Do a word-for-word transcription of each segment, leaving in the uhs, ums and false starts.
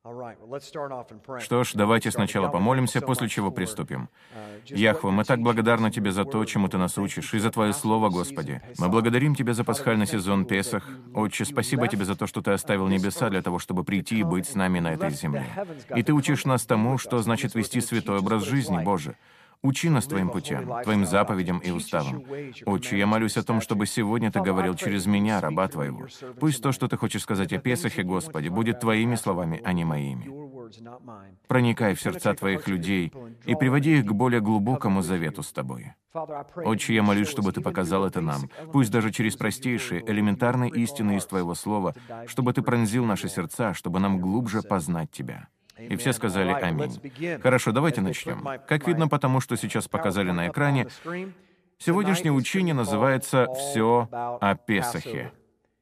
Что ж, давайте сначала помолимся, после чего приступим. Яхва, мы так благодарны Тебе за то, чему Ты нас учишь, и за Твое Слово, Господи. Мы благодарим Тебя за пасхальный сезон Песах. Отче, спасибо Тебе за то, что Ты оставил небеса для того, чтобы прийти и быть с нами на этой земле. И Ты учишь нас тому, что значит вести святой образ жизни, Боже. Учи нас Твоим путям, Твоим заповедям и уставам. Отче, я молюсь о том, чтобы сегодня Ты говорил через меня, раба Твоего. Пусть то, что Ты хочешь сказать о Песахе, Господи, будет Твоими словами, а не моими. Проникай в сердца Твоих людей и приводи их к более глубокому завету с Тобой. Отче, я молюсь, чтобы Ты показал это нам, пусть даже через простейшие, элементарные истины из Твоего Слова, чтобы Ты пронзил наши сердца, чтобы нам глубже познать Тебя. И все сказали «Аминь». Хорошо, давайте начнем. Как видно по тому, что сейчас показали на экране, сегодняшнее учение называется «Все о Песахе».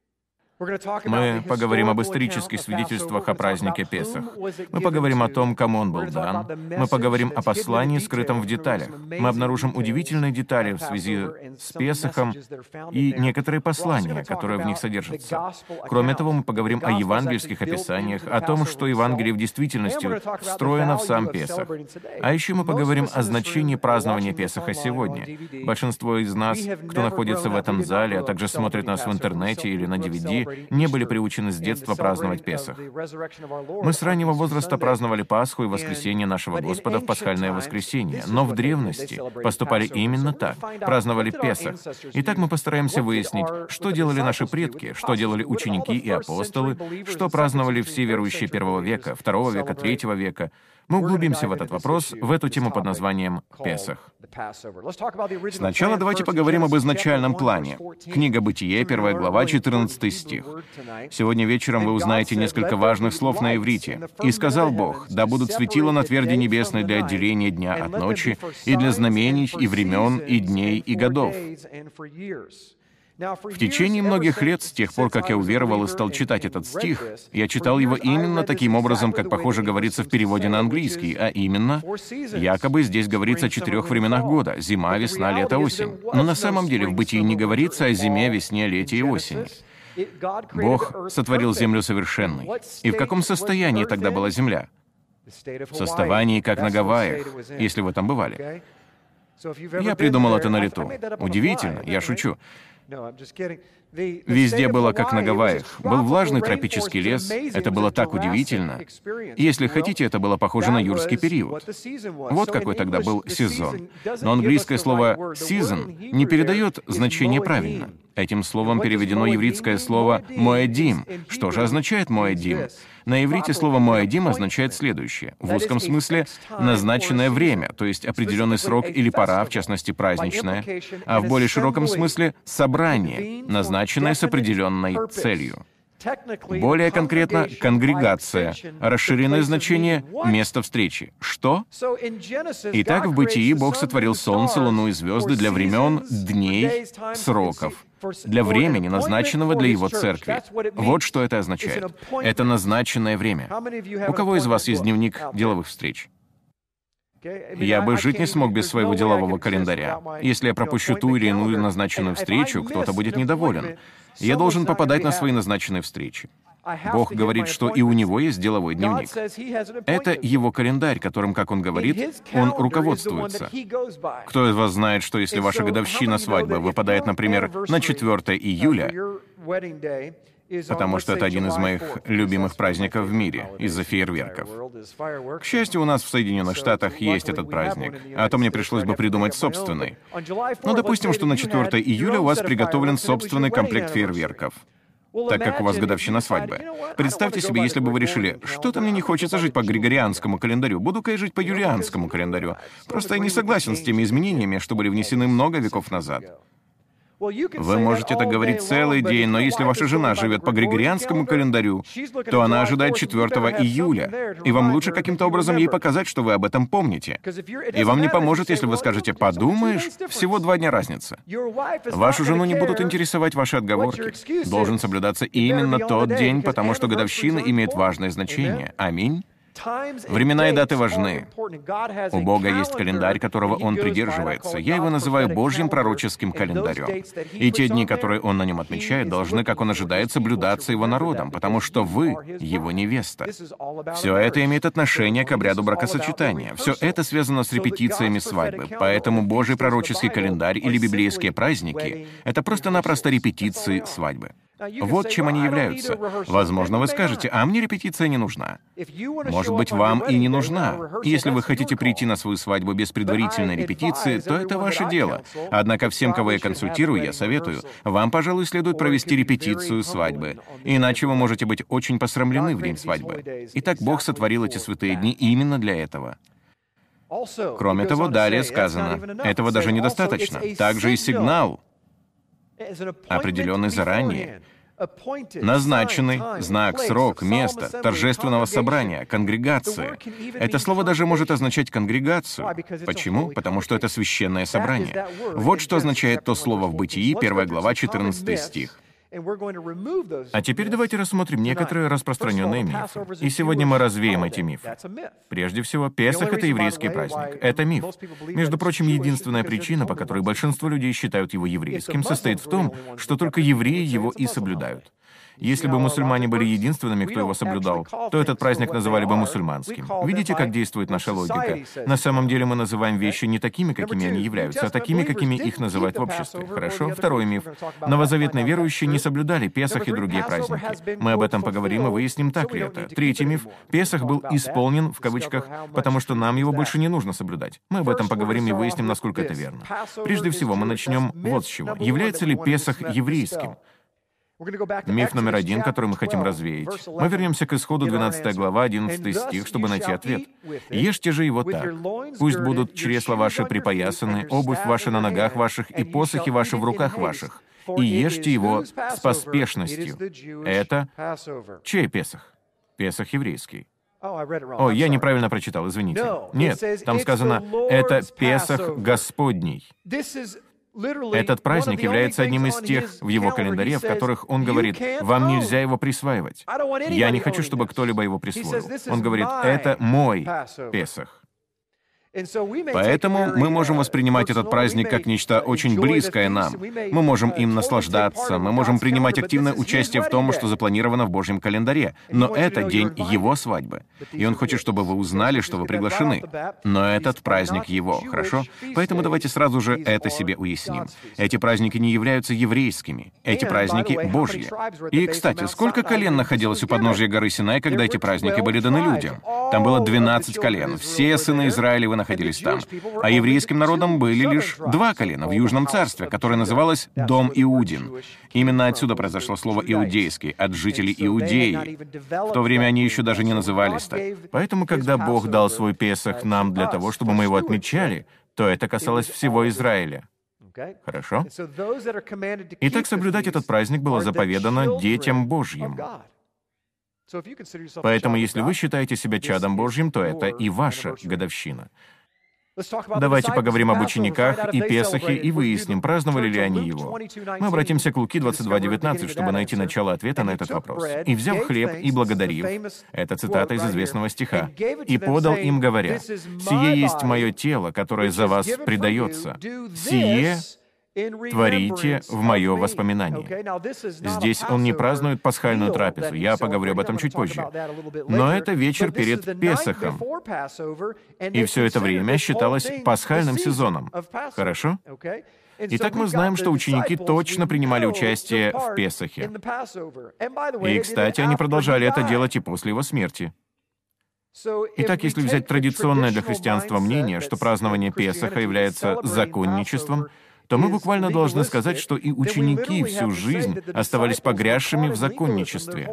Мы поговорим об исторических свидетельствах о празднике Песах. Мы поговорим о том, кому он был дан. Мы поговорим о послании, скрытом в деталях. Мы обнаружим удивительные детали в связи с Песахом и некоторые послания, которые в них содержатся. Кроме того, мы поговорим о евангельских описаниях, о том, что Евангелие в действительности встроено в сам Песах. А еще мы поговорим о значении празднования Песаха сегодня. Большинство из нас, кто находится в этом зале, а также смотрит нас в интернете или на ди ви ди, не были приучены с детства праздновать Песах. Мы с раннего возраста праздновали Пасху и воскресение нашего Господа в пасхальное воскресенье, но в древности поступали именно так, праздновали Песах. Итак, мы постараемся выяснить, что делали наши предки, что делали ученики и апостолы, что праздновали все верующие первого века, второго века, третьего века. Мы углубимся в этот вопрос, в эту тему под названием «Песах». Сначала давайте поговорим об изначальном плане. Книга Бытие, первая глава, четырнадцатый стих. «Сегодня вечером вы узнаете несколько важных слов на иврите. И сказал Бог, да будут светила на тверди небесной для отделения дня от ночи, и для знамений, и времен, и дней, и годов». В течение многих лет, с тех пор, как я уверовал и стал читать этот стих, я читал его именно таким образом, как, похоже, говорится в переводе на английский, а именно, якобы здесь говорится о четырех временах года — зима, весна, лето, осень. Но на самом деле в Бытии не говорится о зиме, весне, лете и осени. Бог сотворил землю совершенной. И в каком состоянии тогда была земля? В состоянии, как на Гавайях, если вы там бывали. Я придумал это на лету. Удивительно, я шучу. Везде было как на Гавайях. Был влажный тропический лес. Это было так удивительно. Если хотите, это было похоже на юрский период. Вот какой тогда был сезон. Но английское слово «season» не передает значение правильно. Этим словом переведено еврейское слово «моэдим». Что же означает «моэдим»? На иврите слово «моэдим» означает следующее. В узком смысле «назначенное время», то есть определенный срок или пора, в частности, праздничная, а в более широком смысле «собрание», назначенное с определенной целью. Более конкретно, конгрегация, расширенное значение — место встречи. Что? Итак, в Бытии Бог сотворил солнце, луну и звезды для времен, дней, сроков, для времени, назначенного для Его церкви. Вот что это означает. Это назначенное время. У кого из вас есть дневник деловых встреч? Я бы жить не смог без своего делового календаря. Если я пропущу ту или иную назначенную встречу, кто-то будет недоволен. Я должен попадать на свои назначенные встречи. Бог говорит, что и у него есть деловой дневник. Это его календарь, которым, как он говорит, он руководствуется. Кто из вас знает, что если ваша годовщина свадьбы выпадает, например, на четвёртое июля, потому что это один из моих любимых праздников в мире из-за фейерверков. К счастью, у нас в Соединенных Штатах есть этот праздник, а то мне пришлось бы придумать собственный. Но допустим, что на четвёртое июля у вас приготовлен собственный комплект фейерверков, так как у вас годовщина свадьбы. Представьте себе, если бы вы решили, что-то мне не хочется жить по григорианскому календарю, буду-ка я жить по юлианскому календарю. Просто я не согласен с теми изменениями, что были внесены много веков назад. Вы можете это говорить целый день, но если ваша жена живет по григорианскому календарю, то она ожидает четвёртого июля, и вам лучше каким-то образом ей показать, что вы об этом помните. И вам не поможет, если вы скажете «подумаешь, всего два дня разница». Вашу жену не будут интересовать ваши отговорки. Должен соблюдаться именно тот день, потому что годовщина имеет важное значение. Аминь. Времена и даты важны. У Бога есть календарь, которого Он придерживается. Я его называю Божьим пророческим календарем. И те дни, которые Он на нем отмечает, должны, как Он ожидает, соблюдаться Его народом, потому что вы — Его невеста. Все это имеет отношение к обряду бракосочетания. Все это связано с репетициями свадьбы. Поэтому Божий пророческий календарь или библейские праздники — это просто-напросто репетиции свадьбы. Вот чем они являются. Возможно, вы скажете, а мне репетиция не нужна. Может быть, вам и не нужна. Если вы хотите прийти на свою свадьбу без предварительной репетиции, то это ваше дело. Однако всем, кого я консультирую, я советую, вам, пожалуй, следует провести репетицию свадьбы. Иначе вы можете быть очень посрамлены в день свадьбы. Итак, Бог сотворил эти святые дни именно для этого. Кроме того, далее сказано, этого даже недостаточно. Также и сигнал, определенный заранее, назначенный знак, срок, место торжественного собрания, конгрегации. Это слово даже может означать конгрегацию. Почему? Потому что это священное собрание. Вот что означает то слово в Бытии, первая глава, четырнадцатый стих. А теперь давайте рассмотрим некоторые распространенные мифы. И сегодня мы развеем эти мифы. Прежде всего, Песах — это еврейский праздник. Это миф. Между прочим, единственная причина, по которой большинство людей считают его еврейским, состоит в том, что только евреи его и соблюдают. Если бы мусульмане были единственными, кто его соблюдал, то этот праздник называли бы мусульманским. Видите, как действует наша логика? На самом деле мы называем вещи не такими, какими они являются, а такими, какими их называют в обществе. Хорошо? Второй миф. Новозаветные верующие не соблюдали Песах и другие праздники. Мы об этом поговорим и выясним, так ли это. Третий миф. Песах был «исполнен», в кавычках, потому что нам его больше не нужно соблюдать. Мы об этом поговорим и выясним, насколько это верно. Прежде всего, мы начнем вот с чего. Является ли Песах еврейским? Миф номер один, который мы хотим развеять. Мы вернемся к Исходу двенадцатая глава, одиннадцатый стих, чтобы найти ответ. «Ешьте же его так. Пусть будут чресла ваши припоясаны, обувь ваша на ногах ваших и посохи ваши в руках ваших. И ешьте его с поспешностью». Это чей Песах? Песах еврейский. О, я неправильно прочитал, извините. Нет, там сказано «это Песах Господний». Этот праздник является одним из тех в его календаре, в которых он говорит, вам нельзя его присваивать. Я не хочу, чтобы кто-либо его присвоил. Он говорит, это мой Песах. Поэтому мы можем воспринимать этот праздник как нечто очень близкое нам. Мы можем им наслаждаться, мы можем принимать активное участие в том, что запланировано в Божьем календаре. Но это день Его свадьбы. И Он хочет, чтобы вы узнали, что вы приглашены. Но этот праздник Его, хорошо? Поэтому давайте сразу же это себе уясним. Эти праздники не являются еврейскими. Эти праздники Божьи. И, кстати, сколько колен находилось у подножия горы Синай, когда эти праздники были даны людям? Там было двенадцать колен. Все сыны Израилевы находились там. А еврейским народом были лишь два колена в Южном царстве, которое называлось Дом Иудин. Именно отсюда произошло слово «иудейский», от жителей Иудеи. В то время они еще даже не назывались так. Поэтому, когда Бог дал свой Песах нам для того, чтобы мы его отмечали, то это касалось всего Израиля. Хорошо? Итак, соблюдать этот праздник было заповедано детям Божьим. Поэтому, если вы считаете себя чадом Божьим, то это и ваша годовщина. Давайте поговорим об учениках и Песахе и выясним, праздновали ли они его. Мы обратимся к Луки двадцать два девятнадцать, чтобы найти начало ответа на этот вопрос. «И, взяв хлеб и благодарив», это цитата из известного стиха, «и подал им, говоря, «Сие есть мое тело, которое за вас предается. Сие творите в мое воспоминание». Здесь он не празднует пасхальную трапезу, я поговорю об этом чуть позже. Но это вечер перед Песахом, и все это время считалось пасхальным сезоном. Хорошо? Итак, мы знаем, что ученики точно принимали участие в Песахе. И, кстати, они продолжали это делать и после его смерти. Итак, если взять традиционное для христианства мнение, что празднование Песаха является законничеством, то мы буквально должны сказать, что и ученики всю жизнь оставались погрязшими в законничестве.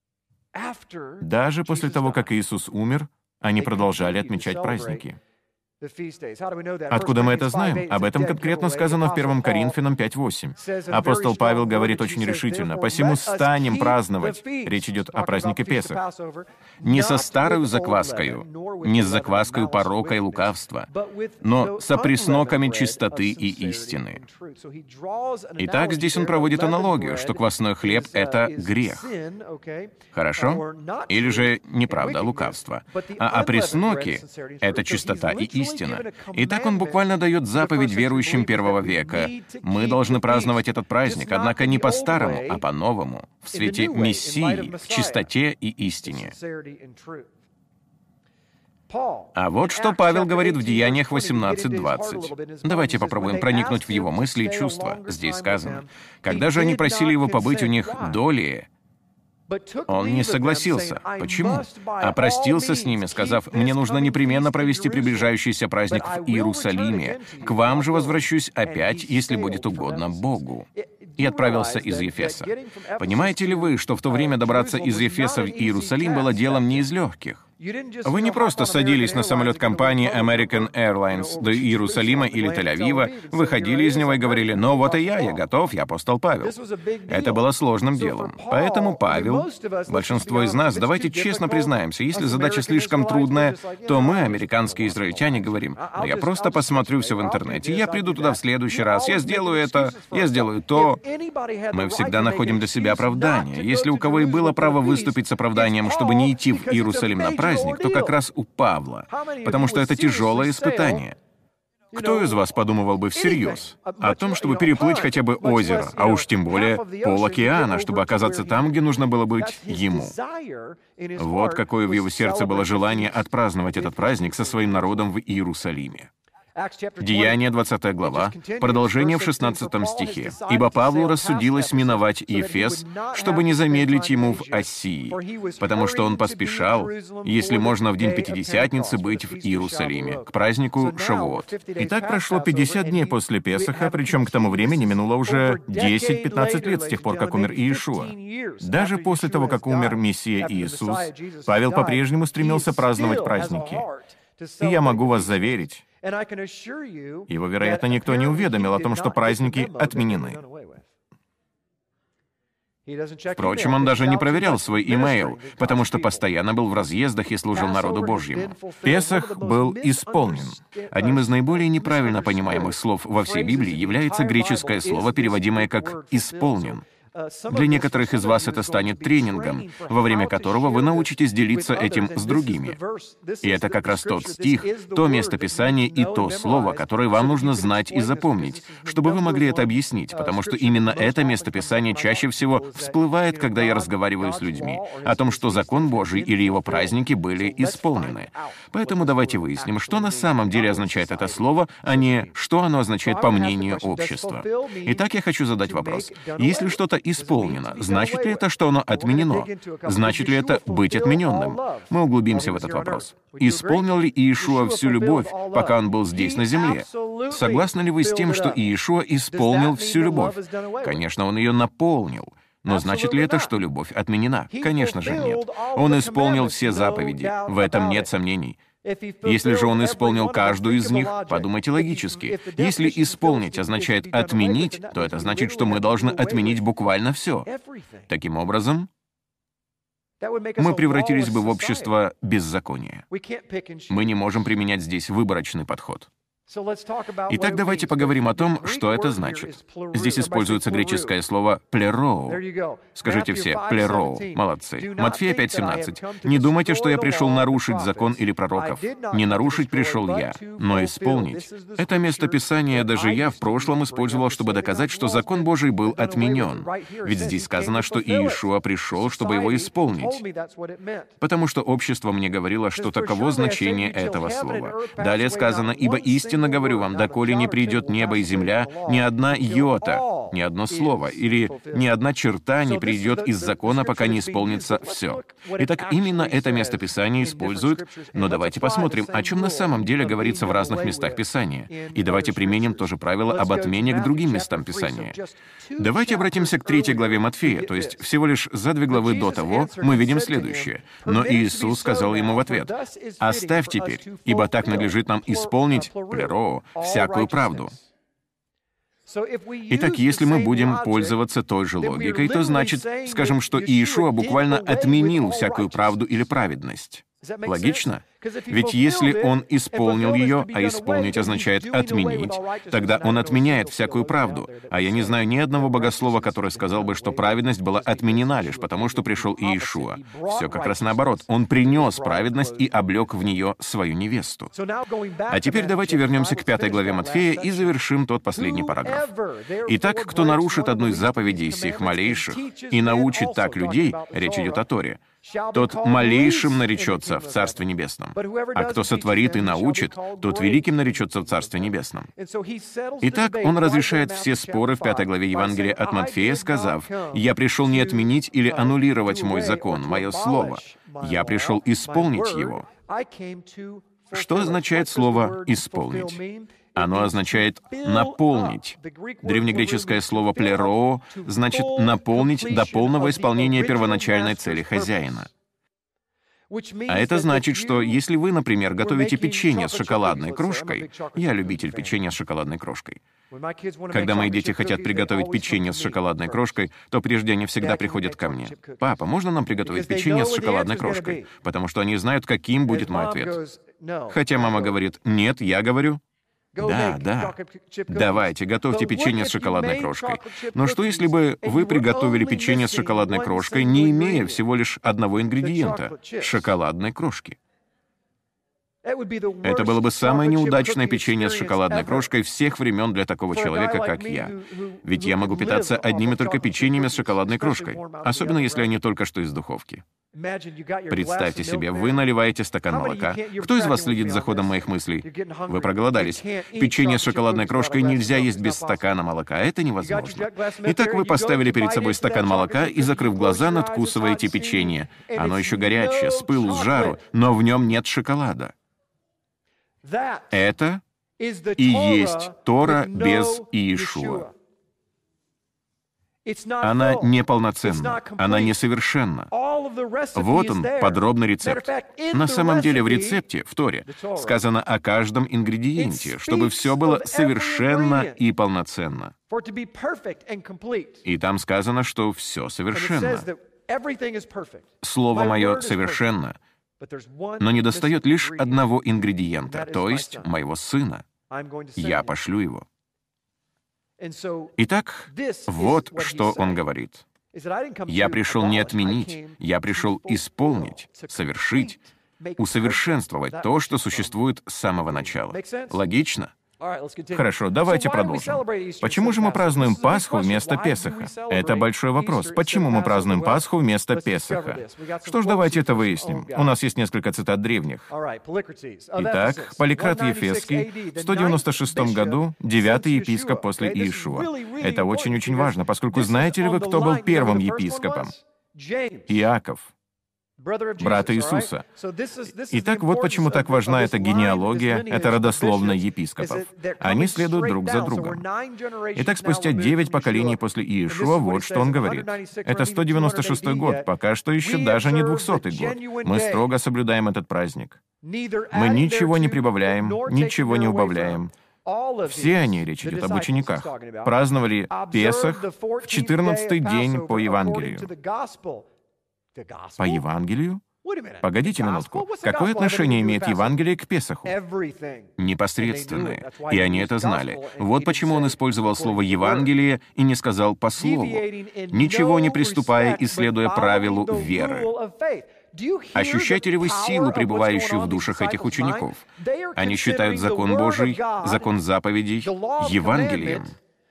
Даже после того, как Иисус умер, они продолжали отмечать праздники. Откуда мы это знаем? Об этом конкретно сказано в первом Коринфянам пять восемь. Апостол Павел говорит очень решительно: «Посему станем праздновать». Речь идет о празднике Песах. «Не со старою закваскою, не с закваскою порока и лукавства, но со пресноками чистоты и истины». Итак, здесь он проводит аналогию, что квасной хлеб — это грех. Хорошо? Или же неправда, лукавство. А опресноки — это чистота и истина. Итак, он буквально дает заповедь верующим первого века. Мы должны праздновать этот праздник, однако не по-старому, а по-новому, в свете Мессии, в чистоте и истине. А вот что Павел говорит в Деяниях восемнадцать двадцать. Давайте попробуем проникнуть в его мысли и чувства. Здесь сказано: «Когда же они просили его побыть у них долее, он не согласился». Почему? А простился с ними, сказав: «Мне нужно непременно провести приближающийся праздник в Иерусалиме. К вам же возвращусь опять, если будет угодно Богу». И отправился из Ефеса. Понимаете ли вы, что в то время добраться из Ефеса в Иерусалим было делом не из легких? Вы не просто садились на самолет компании American Airlines до Иерусалима или Тель-Авива, выходили из него и говорили: «Ну вот и я, я готов, я апостол Павел». Это было сложным делом. Поэтому Павел, большинство из нас, давайте честно признаемся, если задача слишком трудная, то мы, американские израильтяне, говорим: «Ну я просто посмотрю все в интернете, я приду туда в следующий раз, я сделаю это, я сделаю то». Мы всегда находим для себя оправдание. Если у кого и было право выступить с оправданием, чтобы не идти в Иерусалим на праздник, то как раз у Павла, потому что это тяжелое испытание. Кто из вас подумывал бы всерьез о том, чтобы переплыть хотя бы озеро, а уж тем более пол-океана, чтобы оказаться там, где нужно было быть ему? Вот какое в его сердце было желание отпраздновать этот праздник со своим народом в Иерусалиме. Деяния, двадцатая глава, продолжение в шестнадцатом стихе. «Ибо Павлу рассудилось миновать Ефес, чтобы не замедлить ему в Ассии, потому что он поспешал, если можно в день Пятидесятницы, быть в Иерусалиме, к празднику Шавуот». Итак, прошло пятьдесят дней после Песаха, причем к тому времени минуло уже десять-пятнадцать лет с тех пор, как умер Иешуа. Даже после того, как умер Мессия Иисус, Павел по-прежнему стремился праздновать праздники. И я могу вас заверить, его, вероятно, никто не уведомил о том, что праздники отменены. Впрочем, он даже не проверял свой имейл, потому что постоянно был в разъездах и служил народу Божьему. Песах был исполнен. Одним из наиболее неправильно понимаемых слов во всей Библии является греческое слово, переводимое как «исполнен». Для некоторых из вас это станет тренингом, во время которого вы научитесь делиться этим с другими. И это как раз тот стих, то место Писания и то слово, которое вам нужно знать и запомнить, чтобы вы могли это объяснить, потому что именно это место Писания чаще всего всплывает, когда я разговариваю с людьми, о том, что закон Божий или его праздники были исполнены. Поэтому давайте выясним, что на самом деле означает это слово, а не что оно означает по мнению общества. Итак, я хочу задать вопрос. Если что-то исполнено, значит ли это, что оно отменено? Значит ли это быть отмененным? Мы углубимся в этот вопрос. Исполнил ли Иешуа всю любовь, пока он был здесь на земле? Согласны ли вы с тем, что Иешуа исполнил всю любовь? Конечно, он ее наполнил. Но значит ли это, что любовь отменена? Конечно же нет. Он исполнил все заповеди. В этом нет сомнений. Если же он исполнил каждую из них, подумайте логически. Если исполнить означает отменить, то это значит, что мы должны отменить буквально все. Таким образом, мы превратились бы в общество беззакония. Мы не можем применять здесь выборочный подход. Итак, давайте поговорим о том, что это значит. Здесь используется греческое слово «плероу». Скажите все «плероу». Молодцы. Матфея пять семнадцать. «Не думайте, что я пришел нарушить закон или пророков. Не нарушить пришел я, но исполнить». Это место Писания даже я в прошлом использовал, чтобы доказать, что закон Божий был отменен. Ведь здесь сказано, что Иешуа пришел, чтобы его исполнить. Потому что общество мне говорило, что таково значение этого слова. Далее сказано: «Ибо истинно истинно говорю вам, доколе не придет небо и земля, ни одна йота, ни одно слово или ни одна черта не придет из закона, пока не исполнится все. Итак, именно это место Писания используют, но давайте посмотрим, о чем на самом деле говорится в разных местах Писания. И давайте применим то же правило об отмене к другим местам Писания. Давайте обратимся к третьей главе Матфея, то есть всего лишь за две главы до того мы видим следующее. Но Иисус сказал ему в ответ: «Оставь теперь, ибо так надлежит нам исполнить, плеро, всякую правду». Итак, если мы будем пользоваться той же логикой, то значит, скажем, что Иешуа буквально отменил всякую правду или праведность. Логично? Ведь если он исполнил ее, а исполнить означает отменить, тогда он отменяет всякую правду. А я не знаю ни одного богослова, который сказал бы, что праведность была отменена лишь потому, что пришел Иешуа. Все как раз наоборот. Он принес праведность и облег в нее свою невесту. А теперь давайте вернемся к пятой главе Матфея и завершим тот последний параграф. Итак, кто нарушит одну из заповедей сих малейших и научит так людей, речь идет о Торе, тот малейшим наречется в Царстве Небесном. А кто сотворит и научит, тот великим наречется в Царстве Небесном. Итак, он разрешает все споры в пятой главе Евангелия от Матфея, сказав: «Я пришел не отменить или аннулировать мой закон, мое слово. Я пришел исполнить его». Что означает слово «исполнить»? Оно означает «наполнить». Древнегреческое слово «плеро» значит «наполнить до полного исполнения первоначальной цели хозяина». А это значит, что если вы, например, готовите печенье с шоколадной крошкой, я любитель печенья с шоколадной крошкой. Когда мои дети хотят приготовить печенье с шоколадной крошкой, то прежде они всегда приходят ко мне: «Папа, можно нам приготовить печенье с шоколадной крошкой?» Потому что они знают, каким будет мой ответ. Хотя мама говорит «нет», я говорю: «Да, да, давайте, готовьте печенье с шоколадной крошкой». Но что, если бы вы приготовили печенье с шоколадной крошкой, не имея всего лишь одного ингредиента — шоколадной крошки? Это было бы самое неудачное печенье с шоколадной крошкой всех времен для такого человека, как я. Ведь я могу питаться одними только печеньями с шоколадной крошкой, особенно если они только что из духовки. Представьте себе, вы наливаете стакан молока. Кто из вас следит за ходом моих мыслей? Вы проголодались. Печенье с шоколадной крошкой нельзя есть без стакана молока. Это невозможно. Итак, вы поставили перед собой стакан молока и, закрыв глаза, надкусываете печенье. Оно еще горячее, с пылу, с жару, но в нем нет шоколада. Это и есть Тора без Иешуа. Она неполноценна, она несовершенна. Вот он, подробный рецепт. На самом деле в рецепте, в Торе, сказано о каждом ингредиенте, чтобы все было совершенно и полноценно. И там сказано, что все совершенно. Слово мое совершенно, но недостает лишь одного ингредиента, то есть моего сына. Я пошлю его. Итак, вот что он говорит. «Я пришел не отменить, я пришел исполнить, совершить, усовершенствовать то, что существует с самого начала». Логично? Хорошо, давайте продолжим. Почему же мы празднуем Пасху вместо Песаха? Это большой вопрос. Почему мы празднуем Пасху вместо Песаха? Что ж, давайте это выясним. У нас есть несколько цитат древних. Итак, Поликрат Ефесский, в сто девяносто шестом году, девятый епископ после Иешуа. Это очень-очень важно, поскольку знаете ли вы, кто был первым епископом? Иаков, брат Иисуса. Итак, вот почему так важна эта генеалогия, эта родословная епископов. Они следуют друг за другом. Итак, спустя девять поколений после Иешуа, вот что он говорит. Это сто девяносто шестой год, пока что еще даже не двухсотый год. Мы строго соблюдаем этот праздник. Мы ничего не прибавляем, ничего не убавляем. Все они, речь идет об учениках, праздновали Песах в четырнадцатый день по Евангелию. По Евангелию? Погодите минутку. Какое отношение имеет Евангелие к Песаху? Непосредственное. И они это знали. Вот почему он использовал слово «Евангелие» и не сказал «по слову», ничего не приступая и следуя правилу веры. Ощущаете ли вы силу, пребывающую в душах этих учеников? Они считают закон Божий, закон заповедей, Евангелием.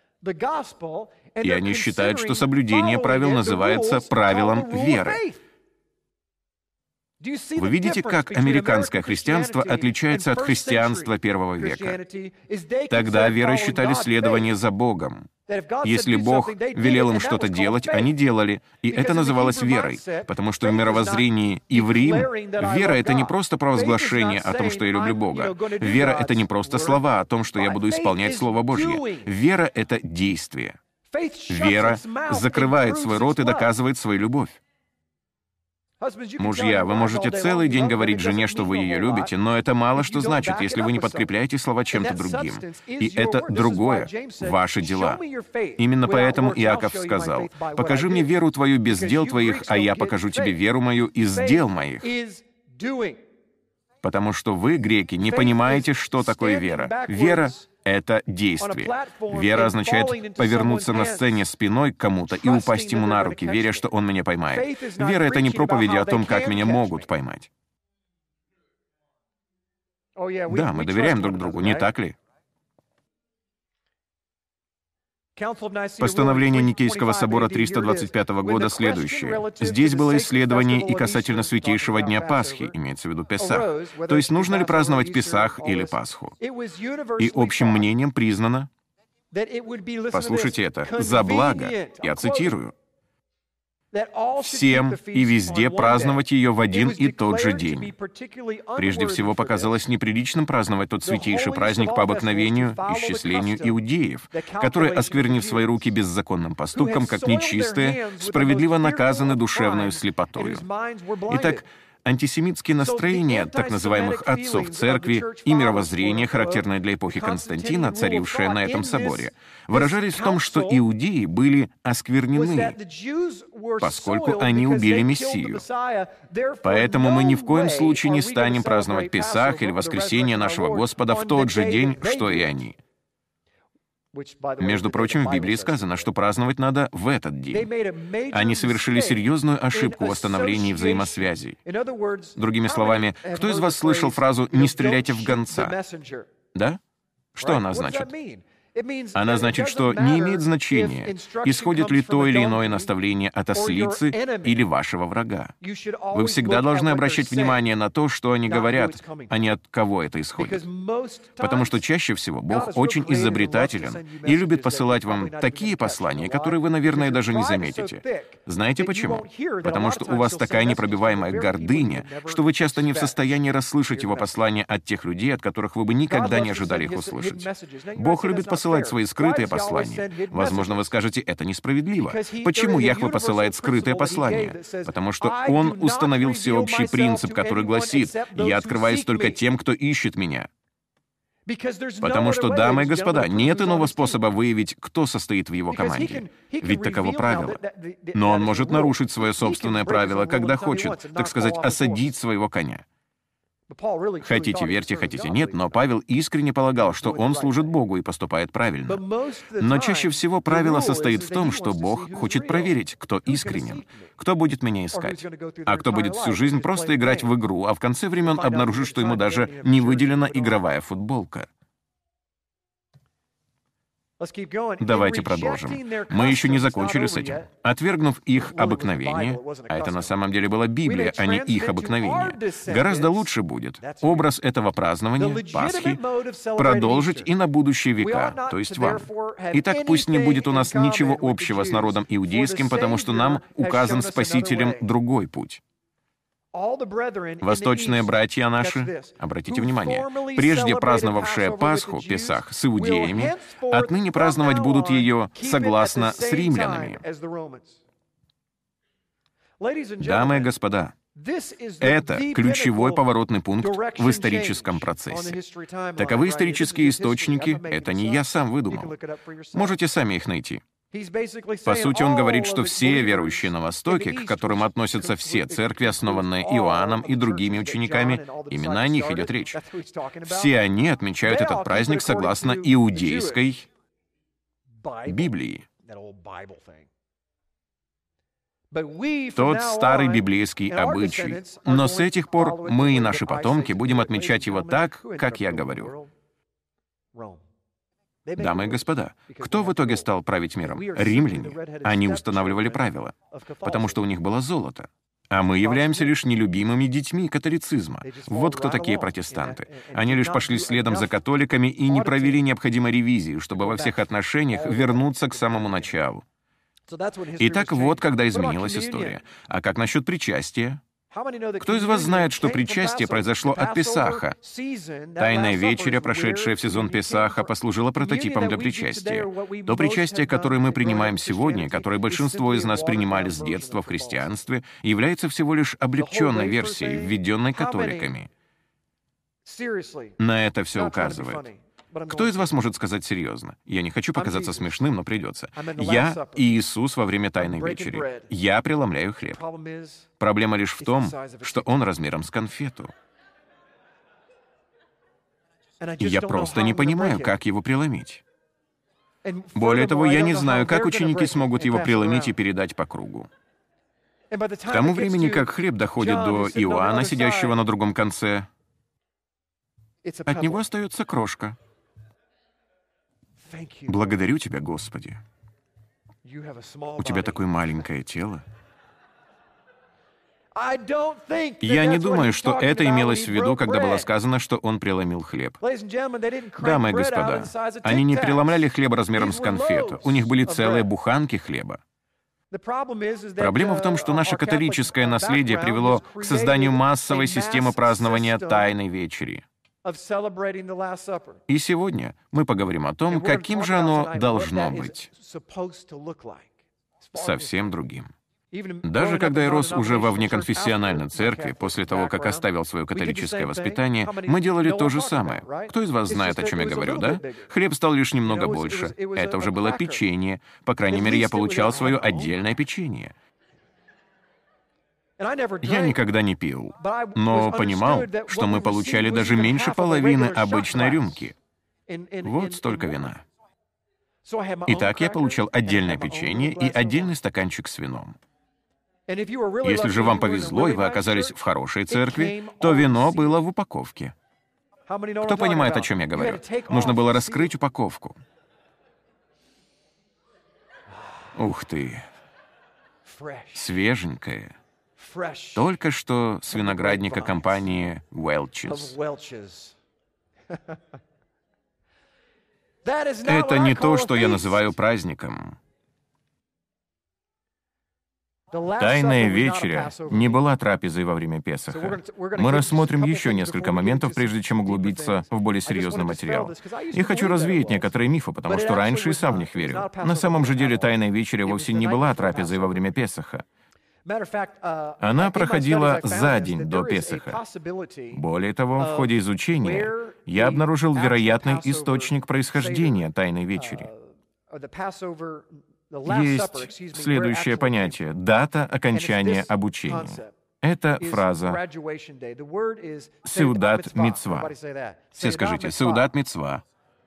И они считают, что соблюдение правил называется правилом веры. Вы видите, как американское христианство отличается от христианства первого века? Тогда верой считали следование за Богом. Если Бог велел им что-то делать, они делали, и это называлось верой, потому что в мировоззрении иврим вера — это не просто провозглашение о том, что я люблю Бога. Вера — это не просто слова о том, что я буду исполнять Слово Божье. Вера — это действие. Вера закрывает свой рот и доказывает свою любовь. Мужья, вы можете целый день говорить жене, что вы ее любите, но это мало что значит, если вы не подкрепляете слова чем-то другим. И это другое — ваши дела. Именно поэтому Иаков сказал: «Покажи мне веру твою без дел твоих, а я покажу тебе веру мою из дел моих». Потому что вы, греки, не понимаете, что такое вера. Вера — это действие. Вера означает повернуться на сцене спиной к кому-то и упасть ему на руки, веря, что он меня поймает. Вера — это не проповеди о том, как меня могут поймать. Да, мы доверяем друг другу, не так ли? Постановление Никейского собора триста двадцать пятого года следующее. Здесь было исследование и касательно святейшего дня Пасхи, имеется в виду Песах. То есть нужно ли праздновать Песах или Пасху? И общим мнением признано, послушайте это, «за благо», я цитирую, «всем и везде праздновать ее в один и тот же день». Прежде всего, показалось неприличным праздновать тот святейший праздник по обыкновению, исчислению иудеев, которые, осквернив свои руки беззаконным поступком, как нечистые, справедливо наказаны душевною слепотою. Итак, антисемитские настроения так называемых отцов церкви и мировоззрение, характерное для эпохи Константина, царившее на этом соборе, выражались в том, что иудеи были осквернены, поскольку они убили Мессию. Поэтому мы ни в коем случае не станем праздновать Песах или воскресение нашего Господа в тот же день, что и они. Между прочим, в Библии сказано, что праздновать надо в этот день. Они совершили серьезную ошибку в восстановлении взаимосвязей. Другими словами, кто из вас слышал фразу «не стреляйте в гонца»? Да? Что она значит? Она значит, что не имеет значения, исходит ли то или иное наставление от ослицы или вашего врага. Вы всегда должны обращать внимание на то, что они говорят, а не от кого это исходит. Потому что чаще всего Бог очень изобретателен и любит посылать вам такие послания, которые вы, наверное, даже не заметите. Знаете почему? Потому что у вас такая непробиваемая гордыня, что вы часто не в состоянии расслышать его послания от тех людей, от которых вы бы никогда не ожидали их услышать. Бог любит посылать посылать свои скрытые послания. Возможно, вы скажете, это несправедливо. Почему Яхве посылает скрытые послания? Потому что Он установил всеобщий принцип, который гласит: «Я открываюсь только тем, кто ищет Меня». Потому что, дамы и господа, нет иного способа выявить, кто состоит в его команде. Ведь таково правило. Но он может нарушить свое собственное правило, когда хочет, так сказать, осадить своего коня. Хотите верьте, хотите нет, но Павел искренне полагал, что он служит Богу и поступает правильно. Но чаще всего правило состоит в том, что Бог хочет проверить, кто искренен, кто будет меня искать, а кто будет всю жизнь просто играть в игру, а в конце времен обнаружит, что ему даже не выделена игровая футболка. Давайте продолжим. Мы еще не закончили с этим. Отвергнув их обыкновение, а это на самом деле была Библия, а не их обыкновение, гораздо лучше будет образ этого празднования, Пасхи, продолжить и на будущие века, то есть вам. Итак, пусть не будет у нас ничего общего с народом иудейским, потому что нам указан Спасителем другой путь. Восточные братья наши, обратите внимание, прежде праздновавшие Пасху, Песах, с иудеями, отныне праздновать будут ее согласно с римлянами. Дамы и господа, это ключевой поворотный пункт в историческом процессе. Таковы исторические источники, это не я сам выдумал. Можете сами их найти. По сути, он говорит, что все верующие на Востоке, к которым относятся все церкви, основанные Иоанном и другими учениками, именно о них идет речь. Все они отмечают этот праздник согласно иудейской Библии. Тот старый библейский обычай. Но с этих пор мы и наши потомки будем отмечать его так, как я говорю. Дамы и господа, кто в итоге стал править миром? Римляне. Они устанавливали правила, потому что у них было золото. А мы являемся лишь нелюбимыми детьми католицизма. Вот кто такие протестанты. Они лишь пошли следом за католиками и не провели необходимой ревизии, чтобы во всех отношениях вернуться к самому началу. Итак, вот когда изменилась история. А как насчет причастия? Кто из вас знает, что причастие произошло от Песаха? Тайная вечеря, прошедшая в сезон Песаха, послужила прототипом для причастия. То причастие, которое мы принимаем сегодня, которое большинство из нас принимали с детства в христианстве, является всего лишь облегченной версией, введенной католиками. На это все указывает. Кто из вас может сказать серьезно? Я не хочу показаться смешным, но придется. Я и Иисус во время Тайной вечери. Я преломляю хлеб. Проблема лишь в том, что он размером с конфету. И я просто не понимаю, как его преломить. Более того, я не знаю, как ученики смогут его преломить и передать по кругу. К тому времени, как хлеб доходит до Иоанна, сидящего на другом конце, от него остается крошка. Благодарю Тебя, Господи. У Тебя такое маленькое тело. Я не думаю, что это имелось в виду, когда было сказано, что он преломил хлеб. Дамы и господа, они не преломляли хлеб размером с конфету. У них были целые буханки хлеба. Проблема в том, что наше католическое наследие привело к созданию массовой системы празднования Тайной вечери. И сегодня мы поговорим о том, каким же оно должно быть. Совсем другим. Даже когда я рос уже во внеконфессиональной церкви, после того, как оставил свое католическое воспитание, мы делали то же самое. Кто из вас знает, о чем я говорю, да? Хлеб стал лишь немного больше. Это уже было печенье. По крайней мере, я получал свое отдельное печенье. Я никогда не пил, но понимал, что мы получали даже меньше половины обычной рюмки. Вот столько вина. Итак, я получал отдельное печенье и отдельный стаканчик с вином. Если же вам повезло, и вы оказались в хорошей церкви, то вино было в упаковке. Кто понимает, о чем я говорю? Нужно было раскрыть упаковку. Ух ты! Свеженькое. Только что с виноградника компании Welch's. Это не то, что я называю праздником. Тайная вечеря не была трапезой во время Песаха. Мы рассмотрим еще несколько моментов, прежде чем углубиться в более серьезный материал. Я хочу развеять некоторые мифы, потому что раньше и сам в них верил. На самом же деле Тайная вечеря вовсе не была трапезой во время Песаха. Она проходила за день до Песаха. Более того, в ходе изучения я обнаружил вероятный источник происхождения Тайной вечери. Есть следующее понятие — дата окончания обучения. Это фраза «сеудат мицва». Все скажите «сеудат мицва».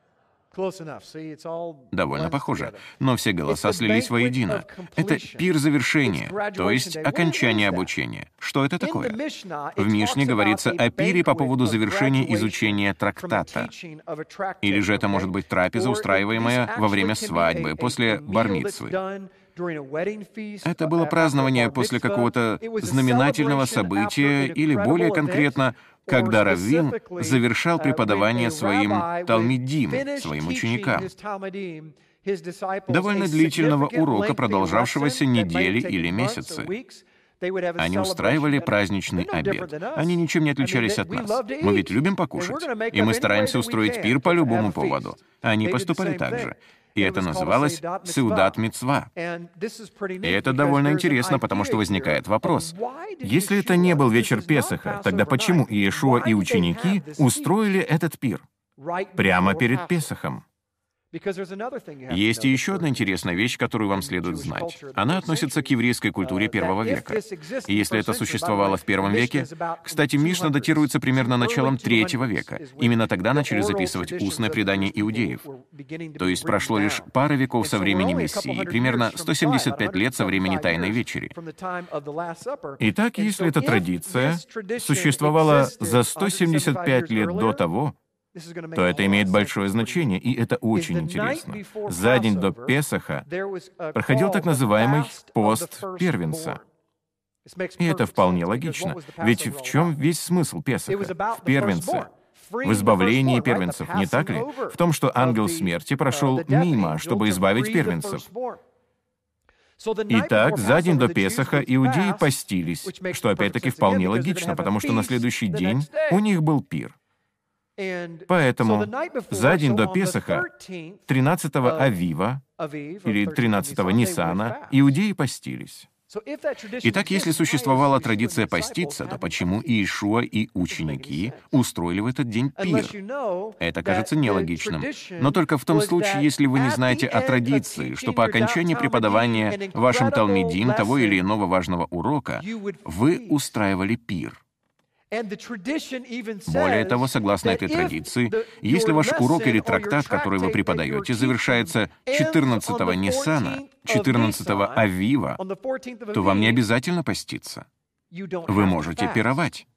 Довольно похоже, но все голоса слились воедино. Это пир завершения, то есть окончание обучения. Что это такое? В Мишне говорится о пире по поводу завершения изучения трактата. Или же это может быть трапеза, устраиваемая во время свадьбы, после бар-мицвы. Это было празднование после какого-то знаменательного события, или более конкретно, когда раввин завершал преподавание своим талмидим, своим ученикам. Довольно длительного урока, продолжавшегося недели или месяцы. Они устраивали праздничный обед. Они ничем не отличались от нас. Мы ведь любим покушать, и мы стараемся устроить пир по любому поводу. Они поступали так же. И это называлось «сеудат мицва». И это довольно интересно, потому что возникает вопрос. Если это не был вечер Песаха, тогда почему Иешуа и ученики устроили этот пир прямо перед Песахом? Есть и еще одна интересная вещь, которую вам следует знать. Она относится к еврейской культуре первого века. И если это существовало в первом веке, кстати, Мишна датируется примерно началом третьего века. Именно тогда начали записывать устное предание иудеев. То есть прошло лишь пара веков со времени Мессии, примерно сто семьдесят пять лет со времени Тайной вечери. Итак, если эта традиция существовала за сто семьдесят пять лет до того, то это имеет большое значение, и это очень интересно. За день до Песаха проходил так называемый пост первенца. И это вполне логично. Ведь в чем весь смысл Песаха? В первенце. В избавлении первенцев, не так ли? В том, что ангел смерти прошел мимо, чтобы избавить первенцев. Итак, за день до Песаха иудеи постились, что опять-таки вполне логично, потому что на следующий день у них был пир. Поэтому за день до Песаха, тринадцатого Авива, или тринадцатого Ниссана, иудеи постились. Итак, если существовала традиция поститься, то почему Иешуа и ученики устроили в этот день пир? Это кажется нелогичным. Но только в том случае, если вы не знаете о традиции, что по окончании преподавания вашим талмидим того или иного важного урока вы устраивали пир. Более того, согласно этой традиции, если ваш урок или трактат, который вы преподаете, завершается четырнадцатого Ниссана, четырнадцатого Авива, то вам не обязательно поститься. Вы можете пировать.